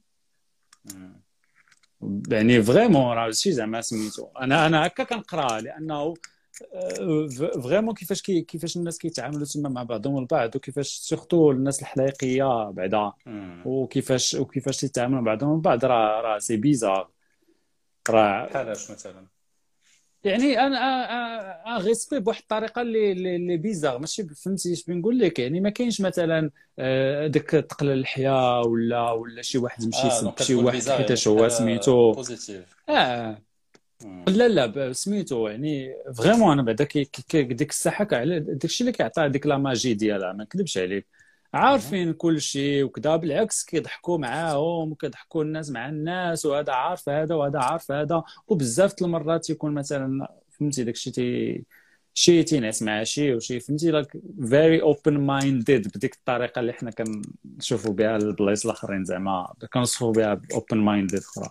يعني فريمون راه شي زعما سميتو انا هكا كنقرا لانه فريمون كيفاش الناس كيتعاملوا تما مع بعضهم البعض وكيفاش سورتو الناس الحلايقيه بعدا وكيفاش تيتعاملوا مع بعضهم البعض راه سي بيزار. راه بحالاش مثلا يعني انا ريسبي بواحد الطريقه اللي بيزار ماشي فهمتي اش بنقول لك. يعني ما كاينش مثلا داك تقلل اللحيه ولا شي واحد يمشي يسب شي واحد حيتاش هو سميتو بوزيتيف. لا سميتو يعني فريمون انا بعدا ديك الساحه على داكشي اللي كيعطي ديك لا ماجي ديالها ما نكذبش عليك. عارفين كل شيء وكذا بالعكس كيضحكوا معاهم وكيضحكوا الناس مع الناس وهذا عارف هذا وهذا عارف هذا. وبزاف المرات يكون مثلا فهمتي داكشي شي تينعس مع شي وشي فهمتي لاك فيري اوبن مايندد بديك الطريقه اللي حنا كنشوفوا بها البلايص الاخرين زعما كنوصفوا بها اوبن مايندد اخرى.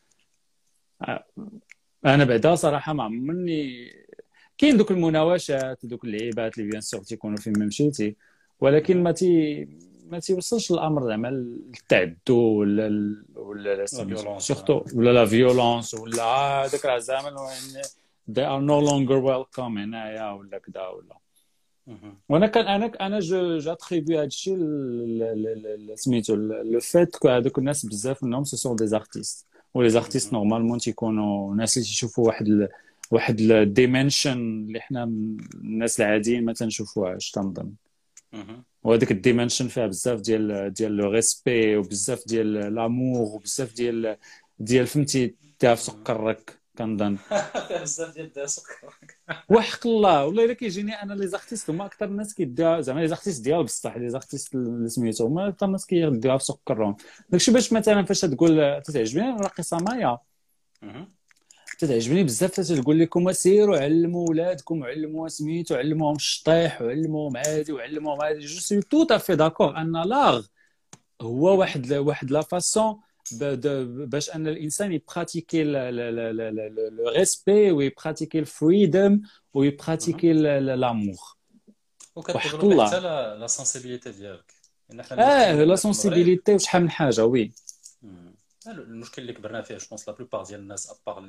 انا بعدا صراحه ما عمرني كاين دوك المناوشات دوك اللعيبات اللي بيان سور تيكونوا فين ما مشيتي ولكن ما تيوصلش الامر زعما للتعدو ولا سورتو ولا لا فيولونس ولا هذاك راه زعما they are no longer welcome هنايا ولا كذا ولا. وانا انا جو اتريبي هادشي سميتو لو فيت كو هذوك الناس بزاف منهم سو سون دي زارتيست ولي زارتيست نورمالمون تيكونوا ناس اللي تيشوفوا واحد الديمنشن اللي حنا الناس العاديين ما تنشوفوهاش تنظن. وهذيك الديمنشن فيها بزاف ديال لو ريسبي وبزاف ديال لامور وبزاف ديال فهمتي ديها في سكرك كنظن. فيها بزاف ديال ديها سكرك وحق الله والله الا كيجيني انا لي زارتيست هما اكثر الناس كيديها زعما لي زارتيست ديال بصح لي زارتيست اللي سميتو هما اكثر الناس كيديوها في سكرهم. داكشي باش مثلا فاش تقول تتعجبني الراقصه مايا تتعجبني بزاف تقول لكم سيروا علموا ولادكم علموا سميتو علموهم الشطيح وعلموهم عادي وعلموهم عادي. جو سوي تو افي داكور ان لاغ هو واحد لا فاسون باش ان الانسان يبراتيكي لو ريسبي ويبراتيكي الفريدم ويبراتيكي لامور. وكتقول حتى لا سنسيبيليتي ديالك لا سنسيبيليتي وشحال من حاجه. وي المشكل اللي كبرنا فيه جوبونس لا بلوبار ديال الناس ابار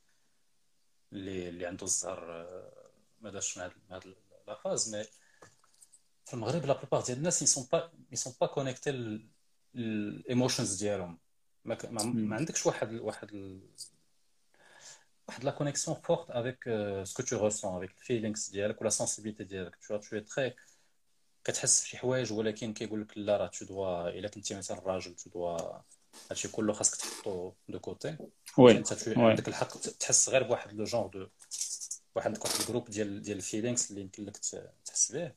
اللي عنده الزهر ما داش مع هاد لا فاز. مي في المغرب لا بلوبار ديال الناس يسون با كونيكتي الايموشنز ديالهم. ما عندكش واحد لا كونيكسيون فورت افيك سكو تو ريسون افيك الفيلينغز ديالك ولا سنسيبيليتي ديالك. تو تري كتحس بشي حوايج ولكن كيقول لك لا راه تو دوا الا كنتي مثلا راجل تو دوا هادشي كله خاصك تحطو دو كوتي. انت عندك الحق تحس غير بواحد لو جونغ دو واحد الجروب ديال الفيلينغز اللي يمكن لك تحس به.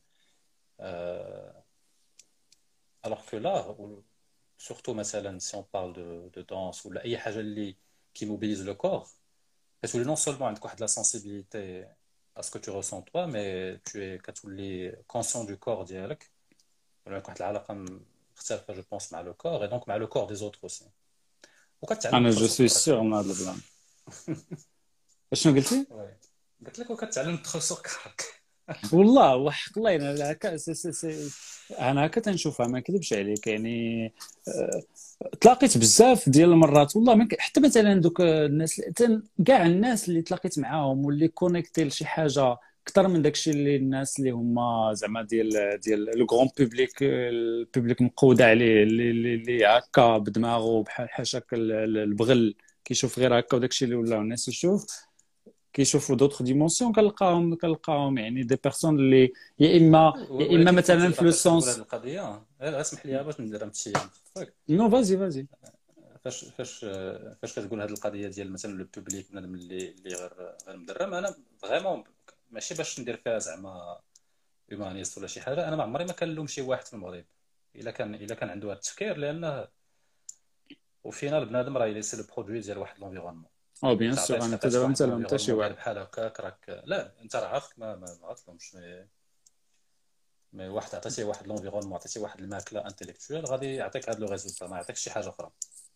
alors que là surtout مثلا si on parle de danse ولا اي حاجه اللي qui mobilise le corps كتولي non seulement عندك واحد la sensibilité à ce que tu ressens toi mais tu es كتولي conscient du corps ديالك ولا واحد العلاقه مختلفه je pense مع le corps et donc مع le corps des autres aussi. انا جو سوي سيغ من هذا البلان. شنو قلتي؟ قلت لك وكتعلم تدخل سوق كارك. والله وحق الله انا هكا تنشوفها، ما نكذبش عليك يعني. تلاقيت بزاف ديال المرات والله حتى مثلا دوك الناس كاع الناس اللي تلاقيت معاهم واللي كونيكتي لشي حاجه اكثر من داكشي اللي الناس اللي هما زعما ديال لو غران بوبليك، البوبليك مقود عليه، اللي هكا بدماغه بحال حاشاك البغل كيشوف غير هكا، وداكشي اللي ولاو الناس كيشوفوا دوطخ ديمونسيون. كنلقاهم يعني دي بيرسون اللي يا اما مثلا في لو سونس القضيه. اسمح لي باش ندير امشي نو فازي. فاش كتقول هذه القضيه ديال مثلا لو بوبليك بنادم اللي غير مدرم، انا فريمون ماشي باش ندير فيها زعما هيومانيست ولا شي حاجه. انا ما عمري ما كنلوم شي واحد في المغرب الا كان عنده هذا التفكير، لانه وفينا بنادم راه ليس لو برودوي ديال واحد لونفيرونمون. بيان سور انا دابا ما تلوم حتى شي واحد بحال هكاك. راك لا انت راه عارفك ما غاتلومش، مي واحد عطيتيه واحد لونفيرونمون، عطيتيه واحد الماكله انتيليكتويال، غادي يعطيك هذا لو ريزولتا، ما يعطيكش شي حاجه اخرى.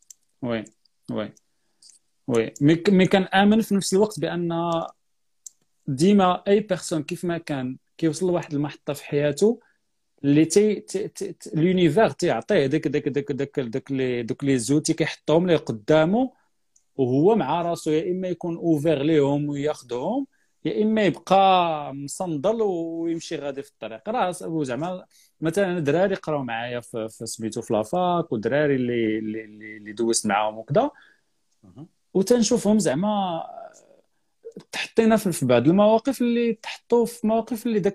وي مي كنامن في نفس الوقت بان ديما اي بيرسون كيف ما كان كيوصل لواحد المحطه في حياته اللي لونيفير تيعطيه داك لي زوتي كيحطهم ليه قدامه، وهو مع راسو يا اما يكون اوفير ليهم وياخذهم، يا اما يبقى مصندل ويمشي غادي في الطريق. راه زعما مثلا دراري قراو معايا في سميتو في لافاك، ودراري اللي دوزت معاهم وكذا، وتنشوفهم زعما تحطينا في بعض المواقف اللي تحطوا في مواقف اللي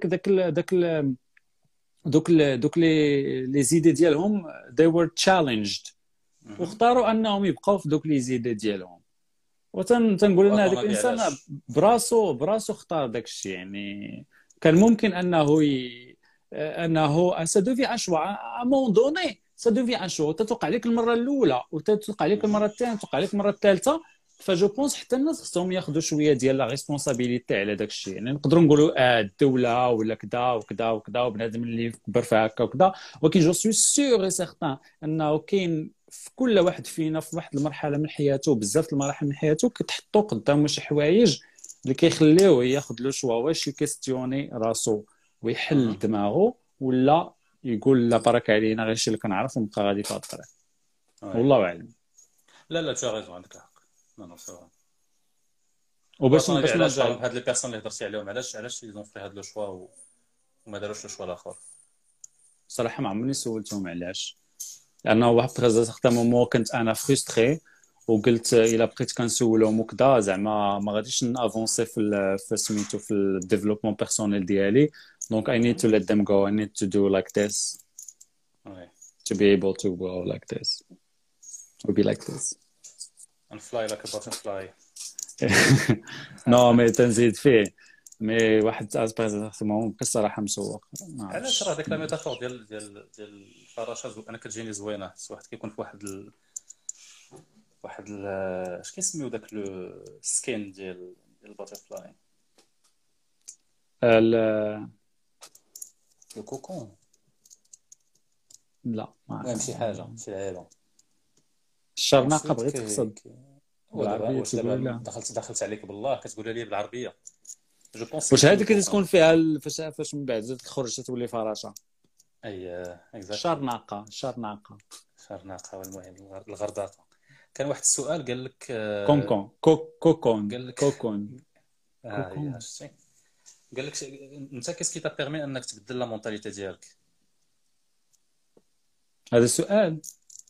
دوك لي زيدي ديالهم they were challenged، واختاروا انهم يبقاو في دوك لي زيدي ديالهم. وتنقول لنا هذاك الانسان براسو اختار داك الشيء. يعني كان ممكن انه سا دوفي ان شوا ا مون دوني، سا دوفي ان شوا، تتوقع لك المره الاولى وتتوقع لك المره الثانيه، تتوقع لك المره الثالثه. فجو بونس حتى الناس خصهم ياخذوا شويه ديال لا ريسبونسابيلتي على داك الشيء. يعني نقدروا نقولوا الدوله ولا كذا وكذا وكذا وبنادم اللي كبر في هكا وكذا، ولكن جو سوي سيغ اي سيغتان انه كاين في كل واحد فينا في واحد المرحله من حياته، بزاف المراحل من حياته كتحطوا قدامه شي حوايج اللي كيخليوه ياخذ لو شوا، واش يكيستيوني راسو ويحل دماغه، ولا يقول لا برك علينا غير الشيء اللي كنعرف ونبقى غادي في هذا الطريق. والله اعلم. لا تو غيزون، عندك الحق. نو سي وباش نرجع هاد لي بيرسون اللي هضرتي عليهم، علاش يزون في هاد لو شوا وما داروش لو شوا الاخر؟ صراحه ما عمرني سولتهم علاش، لانه واحد تغزا سيغتان مومون كنت انا فرستري وقلت الا بقيت كنسولهم وكذا زعما ما غاديش نافونسي في سميتو في الديفلوبمون بيرسونيل ديالي. دونك I need to let them go, I need to do like this to be able to go like this or be like this and fly like a butterfly. نو مي تنزيد فيه مي واحد اسبيريزاسيون بصراحه مسوق. علاش راه ديك لا ميتافور ديال الفراشه انا كتجيني زوينه. واحد كيكون في واحد اش كيسميو داك لو سكين ديال الباترفلاي، لو كوكون. لا ما شي حاجه شي لعيبه الشرناقه بغيت تقصد بالعربيه. دخلت عليك بالله كتقولها لي بالعربيه. جو بونس واش هذيك اللي تكون فيها فاش من بعد تخرج تولي فراشه. شرناقه والمهم الغرداقه. كان واحد السؤال قال لك كوكون قال لك كوكون قال لك انت كيسكي تا بيرمي انك تبدل لا مونطاليتي ديالك؟ هذا السؤال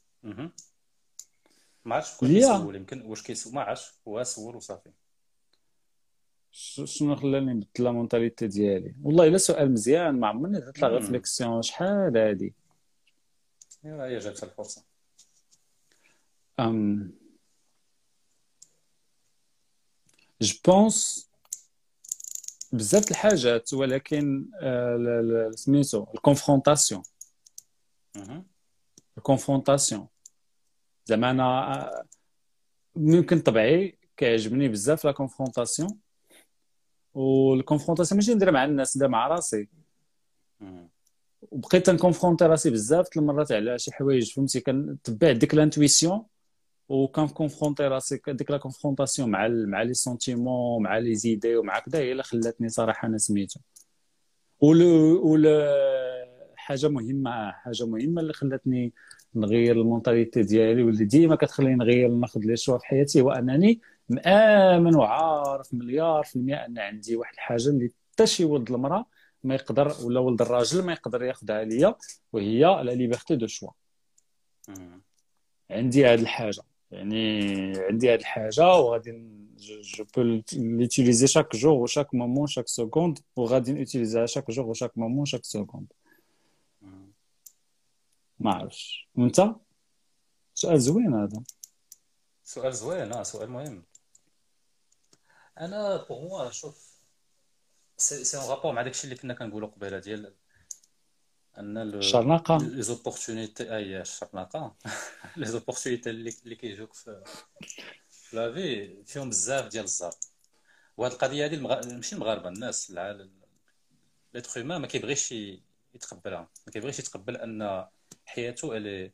ما عرفتش شكون كيسول، يمكن واش كيسول ما عرفتش، هو سول وصافي. شنو خلاني نبدل لا مونطاليتي ديالي؟ والله الا سؤال مزيان، ما عمرني درت لا ريفليكسيون. شحال هادي هي جاتها الفرصه. جو بونس بزاف الحاجات، ولكن سميتو الكونفرونطاسيون. زعما انا ممكن طبيعي كيعجبني بزاف لا كونفرونطاسيون، والكونفرونطاسيون ماشي ندير مع الناس، ندير مع راسي. وبقيت نكونفرونتي راسي بزاف المرات على شي حوايج، فهمتي، كنتبع ديك لانتويسيون وكنفونتي راسي ديك لا كونفرونطاسيون مع لي سونتيمون مع لي زيدي ومع كذا، هي اللي خلاتني صراحه انا سميتو. حاجه مهمه اللي خلاتني نغير المونطاليتي ديالي، واللي ديما كتخليني نغير ناخذ لي شوا في حياتي، هو انني مآمن وعارف مليار في المية ان عندي واحد الحاجه اللي حتى شي ولد المراه ما يقدر، ولا ولد الراجل ما يقدر ياخذها ليا، وهي لا ليبرتي دو شوا. عندي هذه الحاجه، عندي هذه الحاجه، وغادي جو بو ليوتيليزي شاك جور وشاك مومون شاك سكوند، وغادي نوتيليزيها شاك جور وشاك مومون شاك سكوند. ما عرفتش وانت؟ سؤال زوين هذا. سؤال زوين، سؤال مهم. انا بوغ موا شوف سي اون رابور مع داكشي اللي كنا كنقولوا قبيله ديال ان الشرنقه لي زوبورتونيتي الشرنقه لي زوبورتونيتي اللي كيجوك في لا في فيهم بزاف ديال الزار. وهاد القضيه هذه ماشي المغاربه، الناس العالم ليتر هيومان ما كيبغيش يتقبلها، ما كيبغيش يتقبل ان حياته الي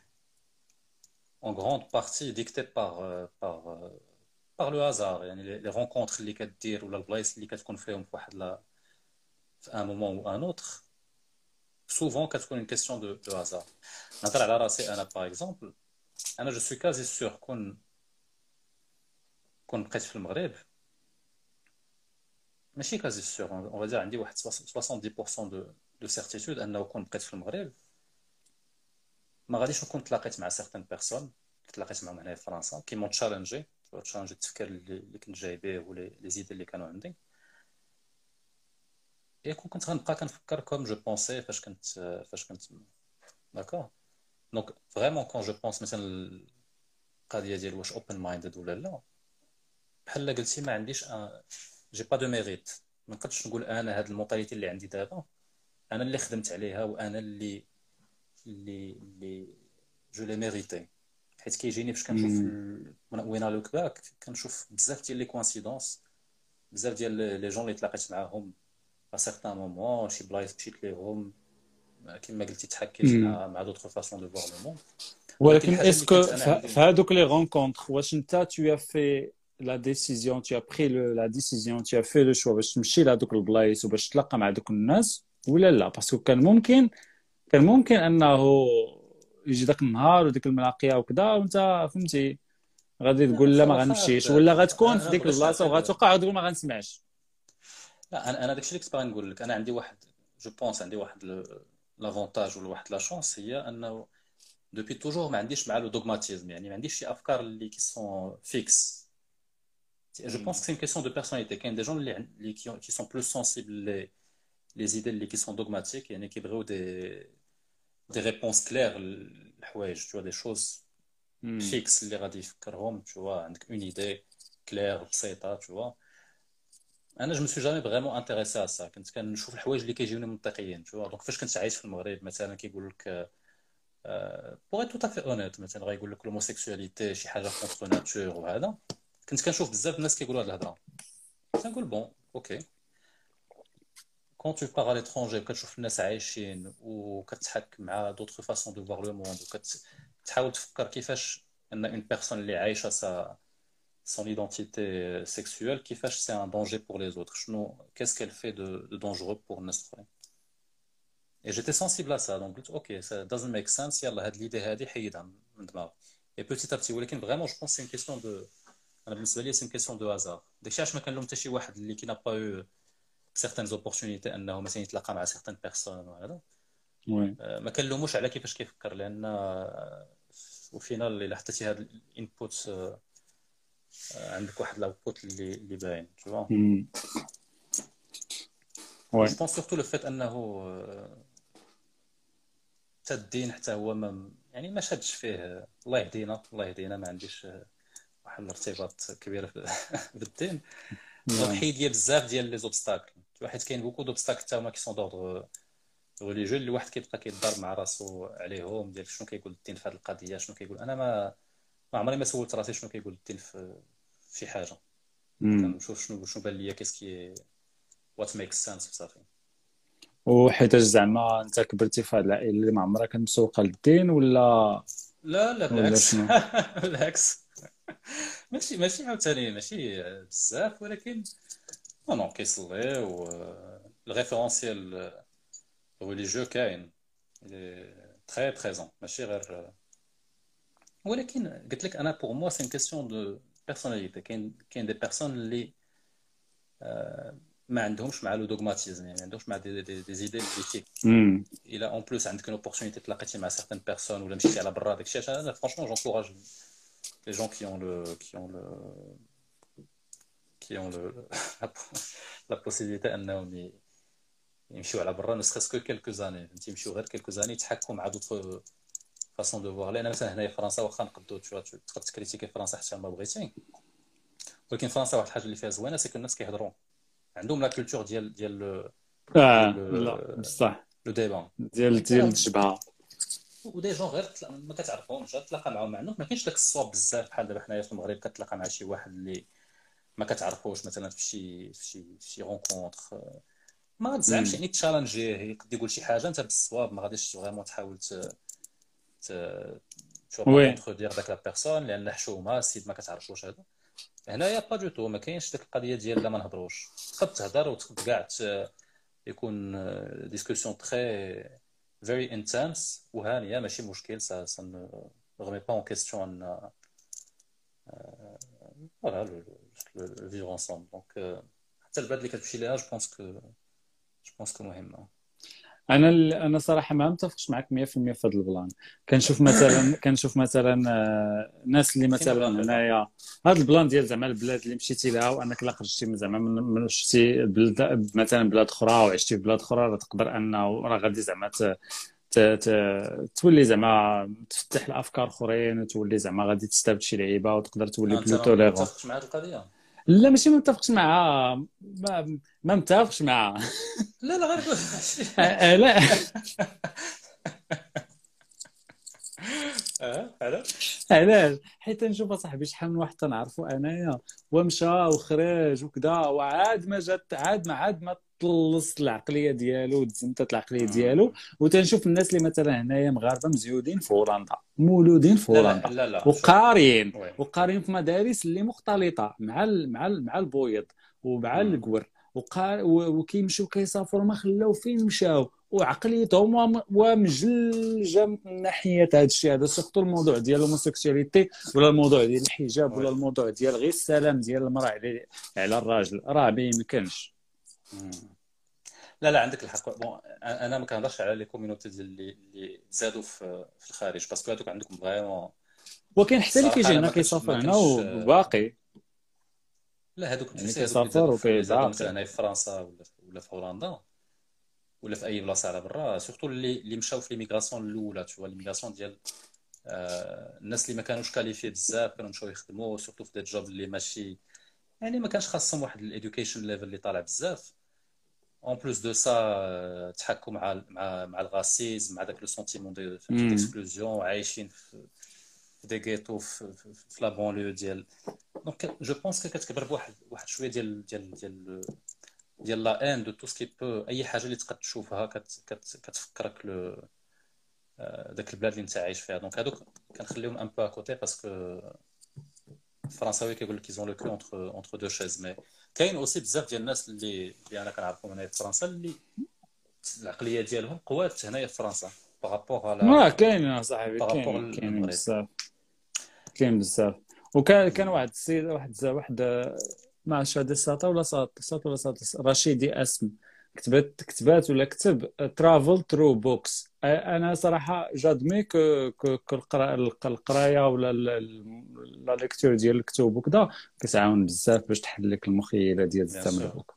en grande partie dictée par le hasard. يعني les rencontres اللي كدير ولا البلايص اللي كتكون فيهم في واحد في un moment ou un autre souvent كتكون une question de hasard. نهضر على راسي انا باغ اكزومبل، انا جو سوي كازي سور كون بقيت في المغرب، ماشي كازي سور، اون فادير عندي واحد 70% دو سيرتيتود انه كون بقيت في المغرب ما غاديش نكون تلاقيت مع سيغتان بيرسون تلاقيت معهم هنا في فرنسا كي مون تشالنجي التفكير اللي كنت جاي به ولا لي زيد اللي كانوا عندي. اي كنت غنبقى كنفكر كوم جو بونسي فاش كنت داكور. دونك فريمون كون جو بونس مثلا القضيه ديال واش اوبن مايندد ولا لا، بحال قلتي ما عنديش جي با دو ميريت. ما نقدرش نقول انا هاد المونطاليتي اللي عندي دابا انا اللي خدمت عليها وانا اللي جو لي ميريتي. حيت كيجيني فاش كنشوف وين لوك باك كنشوف بزاف ديال لي كوانسيدونس، بزاف ديال لي جون اللي تلاقيت معاهم ا سيغتان مومون، شي بلايص مشيت ليهم كما قلتي تحكيت مع دوطخ فاسون دو فوار لو موند. ولكن اسكو في هذوك لي رونكونتر واش انت tu as fait la décision, tu as pris la décision, tu as fait le choix باش تمشي لهذوك البلايص وباش تلاقى مع دوك الناس ولا لا؟ باسكو كان ممكن انه يجي داك النهار وديك الملاقيه وكذا وانت فهمتي غادي تقول لا ما غنمشيش، ولا غتكون في ديك البلاصه وغتوقع وتقول ما غنسمعش. لا انا داكشي اللي كنت باغي نقول لك، انا عندي واحد جو بونس عندي واحد لافونتاج ولا واحد لا شونس، هي انه دوبي توجور ما عنديش مع لو دوغماتيزم. يعني ما عنديش شي افكار اللي كي سون فيكس. جو بونس سي اون كيسيون دو بيرسوناليتي. كاين دي جون اللي كي سون بلوس سونسيبل لي زيدي اللي كي سون دوغماتيك، يعني كيبغيو دي ريبونس كلير الحوايج، تو دي شوز فيكس اللي غادي يفكرهم، تو عندك اون ايدي كلير بسيطه. تو انا جو مسوي جامي فريمون انتريسي على سا، كنت كنشوف الحوايج اللي كيجيوني منطقيين. تو دونك فاش كنت عايش في المغرب مثلا كيقول لك بوغ تو تافي اونيت مثلا غايقول لك لوموسيكسواليتي شي حاجه كونتر ناتور، وهذا كنت كنشوف بزاف الناس كيقولوا هاد الهضره، كنقول بون اوكي. كون تو باغ على لترونجي وكتشوف الناس عايشين وكتحك مع دوطخ فاسون دو فوار لو موند وكتحاول تفكر كيفاش ان اون بيرسون اللي عايشه son identité sexuelle كيفاش c'est un danger pour les autres, شنو qu'est-ce qu'elle fait de dangereux pour الناس الاخرين. et j'étais sensible à ça donc قلت اوكي ça doesn't make sense، يلا هاد ليدي هادي حيدها من دماغي. et petit à petit ولكن vraiment je pense c'est une question de انا بالنسبه لي c'est une question de hasard. داكشي علاش ما كنلوم حتى شي واحد اللي كي n'a pas eu certaines opportunités انه مثلا يتلاقى مع certaines personnes وهذا ما كنلوموش على كيفاش كيفكر، لان وفينال الا حطيتي هاد الانبوت عندك واحد لاوتبوت اللي باين. تو جو بونس سورتو لو فيت انه حتى الدين حتى هو ما شادش فيه. الله يهدينا ما عنديش واحد الارتباط كبير بالدين. دونك حيد ليا بزاف ديال لي زوبستاكل، حيت كاين بوكو دوبستاكل حتى هما كي سون دوردر ريليجيو اللي واحد كيبقى كيضرب مع راسو عليهم ديال شنو كيقول الدين في هذه القضيه، شنو كيقول. انا ما عمري ما سولت راسي شنو كيقول الدين في شي حاجه. كنشوف شنو بان ليا كيسكي وات ميك سنس صافي. وحيت زعما انت كبرتي في هذه العائله اللي ما عمرها كانت مسوقه للدين، ولا لا لا ولا بالعكس. شنو؟ بالعكس، ماشي عاوتاني ماشي بزاف، ولكن نو كيصلي و الريفيرونسيال ريليجيو كاين تري بريزون، ماشي غير. ولكن قلت لك انا بور موا سي كيسيون دو بيرسوناليتي. كاين دي بيرسون اللي ما عندهمش مع لو دوغماتيزم، يعني ما عندهمش مع دي زيدي بوليتيك. الى اون بلوس عندك اون اوبورتونيتي تلاقيتي مع سيغتان بيرسون ولا مشيتي على برا، داكشي علاش انا فرونشمون جونكوراج لي جون qui ont la possibilité انهم يمشيو على برا، نسخ كو quelques années، فهمتي، يمشيو غير quelques années يتحكموا مع دوطر فاسون دو فوار. لان مثلا هنايا في فرنسا واخا نقدو تقدر تكريتيكي فرنسا حتى ما بغيتي، ولكن فرنسا واحد الحاجه اللي فيها زوينه سي كو الناس كيهضروا، عندهم لا كولتور ديال لا بصح لو ديبان ديال الجبهه، ودي جون غير ما كتعرفهمش، تلاقى معاهم، مع انه ما كاينش داك الصواب بزاف بحال دابا حنايا في المغرب كتلاقى مع شي واحد اللي ما كتعرفوش مثلا في شي رونكونتر، ما تزعمش يعني تشالنجيه، يقدر يقول شي حاجه انت بالصواب ما غاديش فريمون تحاول شو با كونتردير داك لا بيرسون لان حشومه السيد ما كتعرفش واش هذا. هنايا با دو تو ما كاينش ديك القضيه ديال لا ما نهضروش، تقدر تهضر وتقدر كاع يكون ديسكوسيون تري فيري انتنس وهانيه، ماشي مشكل. سا نو ريمي با اون كيستيون ان فوالا لو فيفر انصامبل. دونك حتى البلاد اللي كتمشي ليها جو بونس كو مهمه. انا صراحه ما متفقش معك 100% في هذا البلان. كنشوف مثلا الناس اللي مثلا هنايا هذا البلان ديال زعما البلاد اللي مشيتي لها، وانك لا خرجتي زعما من شتي مثلا بلاد اخرى وعشتي في بلاد اخرى، راه تقدر انه راه غادي زعما تولي زعما تفتح الافكار اخرين، وتولي زعما غادي تستافد شي لعيبه وتقدر تولي بلو توليرون. ما متفقش مع هذه القضيه. لا ماشي ما متفقش معها، ما متفقش معها. لا غير لا علاش؟ حيت نشوف صاحبي شحال من واحد تنعرفو انايا ومشى وخرج وكذا، وعاد ما جات عاد ما طلصت العقليه ديالو وتزمتت العقليه ديالو. وتنشوف الناس اللي مثلا هنايا مغاربه مزيودين في هولندا، مولودين في هولندا، وقارين في مدارس اللي مختلطه مع البويض ومع القور، وكيمشيو كيسافروا ما خلاو فين مشاو، وعقليتهم ومجلجه من ناحيه هذا الشيء هذا، سورتو الموضوع ديال الهوموسيكسواليتي ولا الموضوع ديال الحجاب ولا الموضوع ديال غير السلام ديال المراه على الراجل، راه ما يمكنش. لا عندك الحق. بون انا ما كنهضرش على لي كوميونيتي اللي زادوا في الخارج، باسكو هذوك عندكم فريمون، وكاين حتى اللي كيجي هنا كيسافر هنا وباقي. لا هذوك يعني كيسافر وكيزعق مثلا في فرنسا ولا في هولندا ولا في اي بلاصه على برا، سورتو اللي مشاو في ليميغراسيون الاولى، تشوف ليميغراسيون ديال الناس اللي ما كانوش كاليفي بزاف، كانوا مشاو يخدموا سورتو في دي جوب اللي ماشي يعني ما كانش خاصهم واحد الادوكيشن ليفل اللي طالع بزاف. اون بلوس دو سا تحكوا مع الغاسيزم، مع داك لو سونتيمون دو ديكسكلوزيون، عايشين في دي غيتو في لا بونليو ديال. دونك جو بونس كتكبر بواحد شويه ديال لا ان دو تو سكي بو، اي حاجه اللي تقدر تشوفها كتفكرك داك البلاد اللي انت عايش فيها. دونك هادوك كنخليهم ان بو اكوتي، باسكو الفرنساوي كيقول لك كيزون لو كلو اونتر دو شيز. مي كاين اوسي بزاف ديال الناس اللي انا كنعرفهم هنايا في فرنسا اللي العقليه ديالهم قوات هنايا في فرنسا بارابور على كاين صاحبي، كاين بزاف. وكان واحد السيد واحد ما عرفتش هذا ساطا ولا رشيدي اسم كتبات ولا كتب ترافل ثرو بوكس. انا صراحه جادمي القرايه ولا لا ليكتور ديال الكتب وكذا كتعاون بزاف باش تحل لك المخيله ديال الزمن بوك.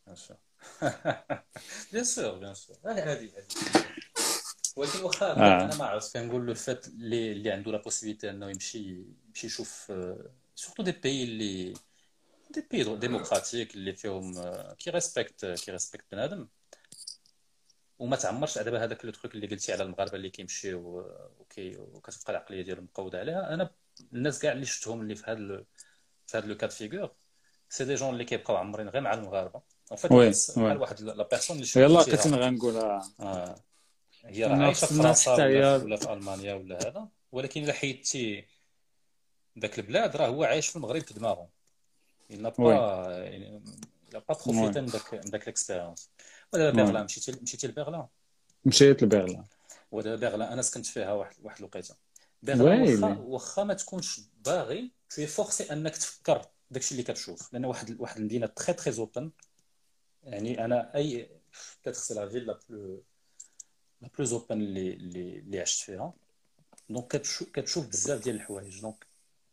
بيان سور هذه ولكن واخا انا ما عرفت كنقول لو فات اللي عنده لا بوسيبيتي انه يمشي يشوف سورتو دي بيي ديموقراطيك اللي فيهم كي ريسبكت بنادم، وما تعمرش دابا هذاك لو تروك اللي قلتي على المغاربه اللي كيمشيو وكتبقى العقليه ديالهم مقوده عليها. انا الناس كاع اللي شفتهم اللي في هذا لو كاد فيغور سي دي جون اللي كيبقاو عمرين غير مع المغاربه. اون فيت بحال واحد لا بيرسون اللي يلاه كنت غنقولها هي راه عايشه في فرنسا ولا في المانيا ولا هذا، ولكن الا حيدتي ذاك البلاد راه هو عايش في المغرب في دماغه il n'a pas il a pas profité من داك الاكسبيريونس. ودابا بيرلان مشيتي لبيرلان؟ مشيت لبيرلين. ودابا بيرلان انا سكنت فيها واحد الوقيته. بيرلان واخا ما تكونش باغي تو فورسي انك تفكر داكشي اللي كتشوف، لان واحد المدينه تري اوبن. يعني انا اي كتخسر لا فيل لا بلوز اوبن اللي عشت فيها. دونك كتشوف بزاف ديال الحوايج. دونك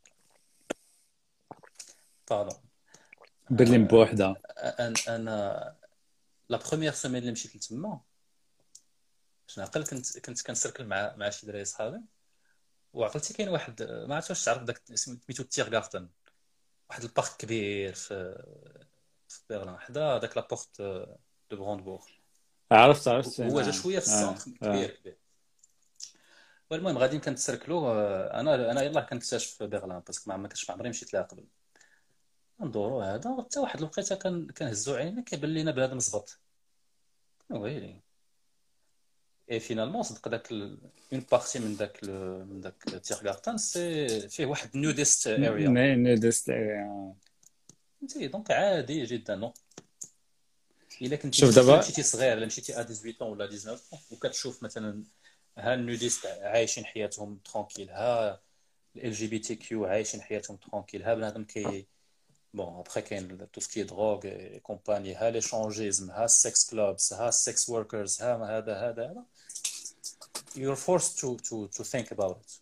باردون برلين بوحدها. انا لا بروميير سيمين اللي مشيت لتما شنو عقل كنت كنسركل مع شي دراري صحابي، وعقلتي كاين واحد ما عرفتش واش تعرف داك سميتو تيرغارتن، واحد البارك كبير في برلين حدا داك لابورت دو براندبورغ. عرفت هو جا شويه في السونتر كبير. والمهم غادي كنتسركلو. انا يلاه كنكتشف برلين باسكو ما كنتش عمري مشيت لها قبل. ندورو هذا حتى واحد الوقيته كنهزو عينينا كيبان لينا بنادم زبط ويلي. اي فينالمون صدق داك اون بارتي من داك تيرغارتن سي فيه واحد نوديست اريا. نوديست اريا فهمتي. دونك عادي جدا. نو الا كنتي شوف دابا مشيتي صغير، الا مشيتي 18 ولا 19 وكتشوف مثلا ها النوديست عايشين حياتهم ترونكيل، ها ال جي بي تي كيو عايشين حياتهم ترونكيل، ها بنادم بون ابخي كاين تو سكي دروغ اي كومباني، ها لي شونجيزم، ها السكس كلوبز، ها السكس وركرز، ها هذا you're forced to think about it.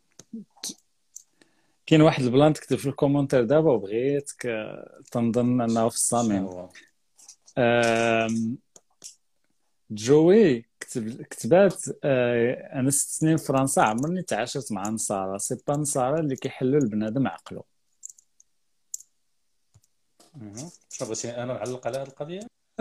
كاين واحد البلان كتب في الكومونتير دابا وبغيتك تنظن انه في الصميم. جوي كتبات انا 6 سنين في فرنسا عمرني تعاشرت مع نصارى، سي با نصارى اللي كيحلوا البنادم عقله. شنو بغيتي انا نعلق على هذه القضيه؟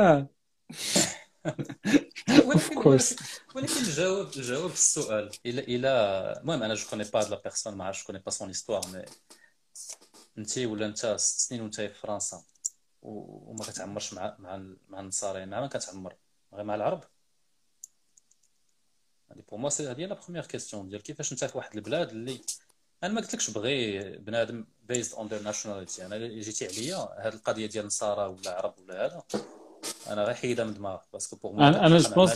ولكن الجواب في السؤال الى المهم انا جو كوني با لا بيرسون، ما عرفتش كوني با سون هيستوار. مي انت ولا انت 6 سنين وانت في فرنسا وما كتعمرش مع النصارى، مع من كتعمر؟ غير مع العرب؟ هذه بور موا هذه لا بروميير كيسيون ديال كيفاش انت في واحد البلاد اللي انا ما قلتلكش بغي بنادم بيزد اون ذير ناشوناليتي. انا جيتي عليا هذه القضيه ديال النصارى ولا عرب ولا هذا انا غير حيدها من دماغ باسكو بور موا انا جو بونس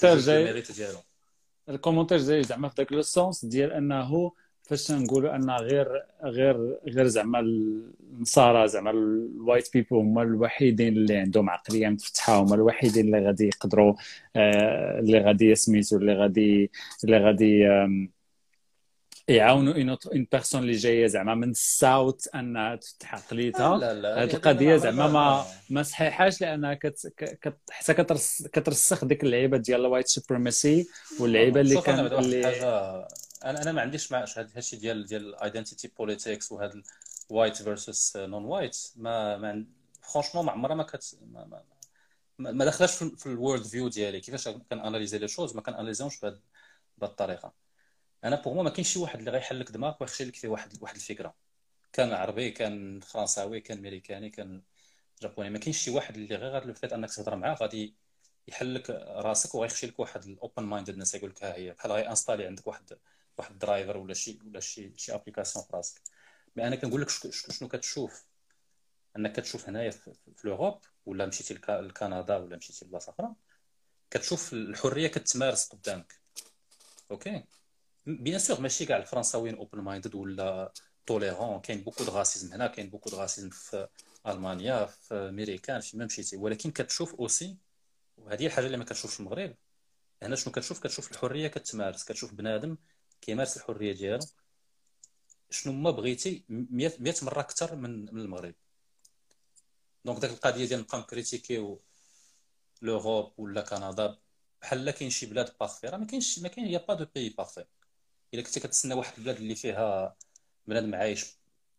الكومونتير جاي زعما في داك لو سونس ديال انه فاش نقولوا ان غير زعما النصارى زعما الوايت بيبل هما الوحيدين اللي عندهم عقليه متفتحه، هما الوحيدين اللي غادي يقدروا اللي غادي سميتو اللي غادي يعاونوا اون بيرسون اللي جايه زعما من الساوث انها تفتح عقليتها. هذه القضيه زعما ما صحيحاش، لانها حتى كترسخ ديك اللعيبه ديال الوايت سوبريماسي واللعيبه اللي كان انا ما عنديش مع هادشي ديال ايدنتيتي بوليتيكس وهذا وايت فيرسس نون وايت. ما فرانشمون ما عمرها ما دخلش في الورلد فيو ديالي. كيفاش كناناليزي لي شوز ما كناناليزيهمش بهذه الطريقه. انا بوغ ما كاينش شي واحد اللي غيحلك دماغك ويخشي لك فيه واحد الفكره، كان عربي كان فرنساوي كان امريكاني كان جابوني. ما كاينش شي واحد اللي غير لو فيت انك تهضر معاه غادي يحلك راسك وغيخشي لك واحد الاوبن ماينددنس. يقول لك ها هي بحال غي انستالي عندك واحد الدرايفر ولا شي ابليكاسيون في راسك. مي انا كنقول لك شنو كتشوف. انك كتشوف هنايا في لوروب ولا مشيتي لكندا ولا مشيتي لبلاصه اخرى كتشوف الحريه كتمارس قدامك. اوكي بيان سور ماشي كاع الفرنساويين اوبن مايندد ولا توليرون. كاين بوكو د راسيزم هنا، كاين بوكو د راسيزم في المانيا في امريكان في ما مشيتي. ولكن كتشوف اوسي، وهذه الحاجه اللي ما كتشوفش في المغرب هنا. شنو كتشوف الحريه كتمارس، كتشوف بنادم كيمارس الحريه ديالو شنو ما بغيتي 100 مره اكثر من المغرب. دونك داك القضيه ديال نبقى نكريتيكيو لوروب ولا كندا بحال كاين شي بلاد بارفي، راه ما كاين يا با دو بيي بارفي. الا كنتي كتسنى واحد البلاد اللي فيها بنادم عايش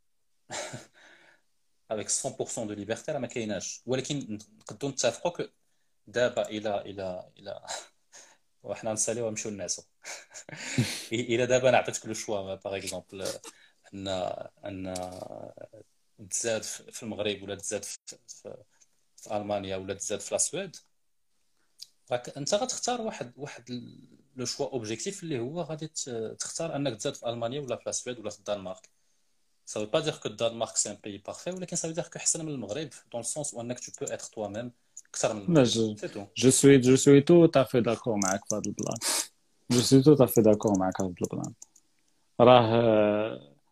avec 100% دو ليبرتي راه ما كايناش. ولكن نقدروا نتفقوا دابا الى وحنا نساليو ونمشيو للناس الى دابا انا عطيتك لو شوا باغ اكزومبل ان تزاد في المغرب ولا تزاد في المانيا ولا تزاد في السويد، راك انت غتختار واحد لو شوا اوبجيكتيف اللي هو غادي تختار انك تزاد في المانيا ولا في السويد ولا في الدنمارك. ça veut pas dire que الدنمارك c'est un pays parfait ولكن ça veut dire que احسن من المغرب dans le sens où انك tu peux être toi-même اكثر من المغرب. c'est tout. je suis tout à fait d'accord معك في هذا البلان. je suis tout à fait d'accord معك في هذا البلان. راه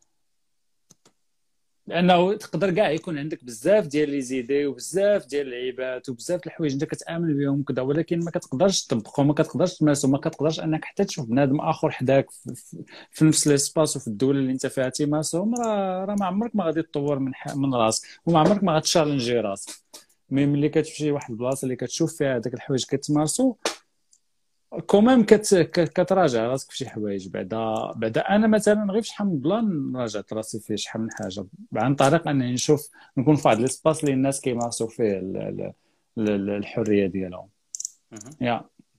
لانه تقدر كاع يكون عندك بزاف ديال لي زيدي وبزاف ديال اللعيبات وبزاف د الحوايج انت كتامن بهم كذا، ولكن ما كتقدرش تطبقهم، ما كتقدرش تمارسهم، ما كتقدرش انك حتى تشوف بنادم اخر حداك في نفس ليسباس وفي الدوله اللي انت فيها تيمارسهم. راه ما عمرك ما غادي تطور من راسك، وما عمرك ما غتشالنجي راسك. ملي كتمشي لواحد البلاصه اللي كتشوف فيها هذاك الحوايج كتمارسو كومام كتراجع راسك في شي حوايج. بعدا انا مثلا غير شحال من بلان راجعت راسي فيه شحال من حاجه عن طريق انني نشوف نكون في واحد ليسباس اللي الناس كيمارسوا فيه الحريه ديالهم. يا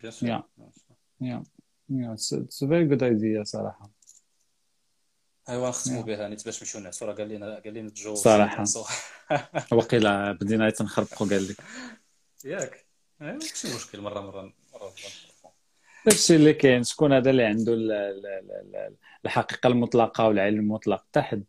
اتس فيري جود ايديا صراحه. ايوا نختموا بها نيت باش نمشيو نعسوا. راه قال لنا الجو صراحه وقيلا بدينا تنخربقوا قال لك ياك. ماشي مشكل مره داكشي اللي كاين. شكون هذا اللي عنده الحقيقه المطلقه والعلم المطلق تحت؟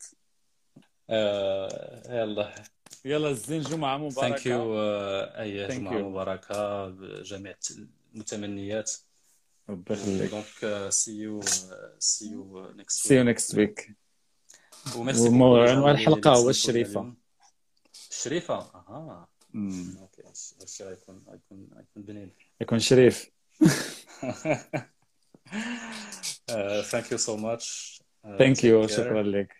يلا الزين جمعه مباركه. ثانك يو. اي جمعه مباركه بجميع المتمنيات. ربي يخليك. دونك سي يو نيكست ويك. وميرسي. عنوان الحلقه هو الشريفه. الشريفه اوكي. هادشي غيكون بنين، يكون شريف. thank you so much. thank you. شكرا لك.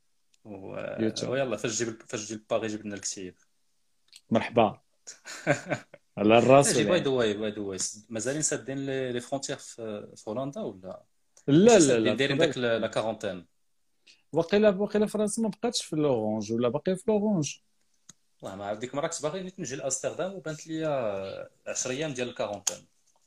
ويلا فاش تجي لباريس جبنا الكتيب. مرحبا. على الراس. باي ذا واي مازالين سادين لي فرونتيير في هولندا ولا لا دايرين داك لا كارونتين؟ وقيلا فرنسا ما بقاتش في لورانج ولا باقي في لورانج. والله ما عرفت. ديك المره كنت باغي نجي لامستردام وبانت لي 10 ايام ديال الكارونتين.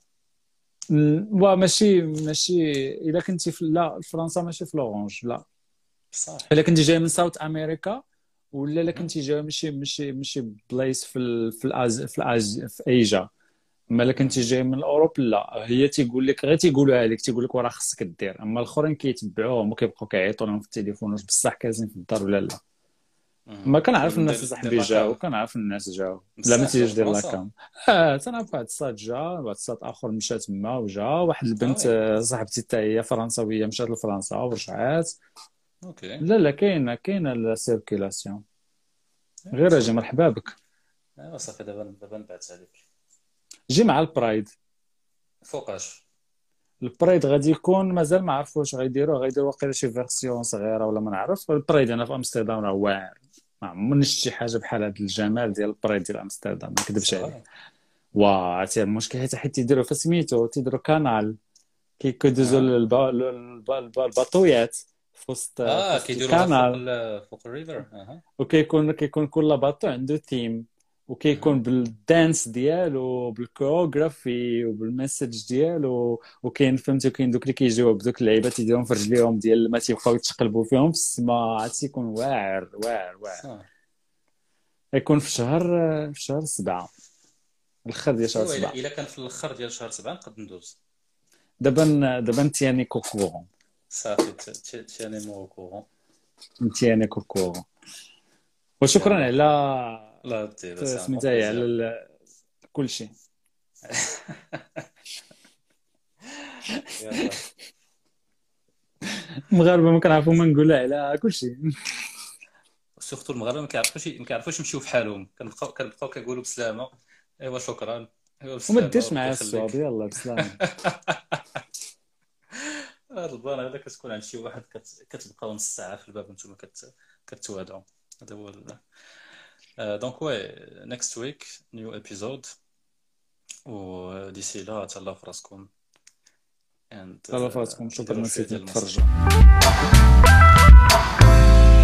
ماشي الا كنتي في فرنسا ماشي في لورانج لا صح. الا كنتي جاي من ساوث امريكا ولا الا كنتي جاي ماشي بلايص في ايجا. اما الا كنتي جاي من اوروب لا هي تيقول لك غير تيقولوها لك تيقول لك راه خصك دير. اما الاخرين كيتبعوهم وكيبقاو كيعيطوا لهم في التليفون واش بصح كازين في الدار ولا لا. ما كنعرف الناس صاحبي جاو كنعرف الناس جاو لا ما تيجيش دير لاكام. تنعرف واحد الصاد جا واحد الصاد اخر مشى تما وجا واحد البنت صاحبتي حتى هي فرنساويه مشات لفرنسا ورجعات. اوكي. لا كاينه السيركيلاسيون. غير اجي مرحبا بك. ايوا صافي. دابا نبعث عليك. جي مع البرايد. فوقاش البرايد غادي يكون مازال ما عرفوش غيديروا واقيلا شي فيرسيون صغيره ولا ما نعرف. البرايد هنا في امستردام راه واعر. ما عمرني شفت شي حاجه بحال هذا الجمال ديال البرايد ديال امستردام ما نكذبش عليك. عرفتي المشكل حيت تيديروا فسميتو تيديروا كانال كيدوزوا الباطويات في وسط كيديروا فوق الريفر. وكيكون كل باطو عنده ثيم وكيكون بالدانس ديالو بالكوغرافي وبالمسج ديالو. وكاين فهمتي كاين دوك اللي كيجيو بدوك اللعيبات يديرهم في رجليهم ديال ما تيبقاو يتقلبوا فيهم في السما. عرفتي يكون واعر. يكون في شهر 7 الاخر ديال شهر 7. الا كان في الاخر ديال شهر 7 نقد ندوز. دابا تياني كوكورون صافي. تياني موكورون. تياني كوكورون. وشكرا على لا سميتها على كل شيء. المغاربه ما كنعرفوا ما نقولها على كل شيء. سورتو المغاربه ما كيعرفوش يمشيو بحالهم. كنبقاو كيقولوا بسلامه. ايوا شكرا. وما ديرش معايا الصواب. يلا بسلامه. هاد البلان هذا كتكون عند شي واحد كتبقاو نص ساعه في الباب نتوما كتوادعوا. هذا هو دونك نيكست ويك نيو ابيزود. وديسي لا تهلاو في راسكم. تهلاو في راسكم. شكرا نسيت نتفرجوا.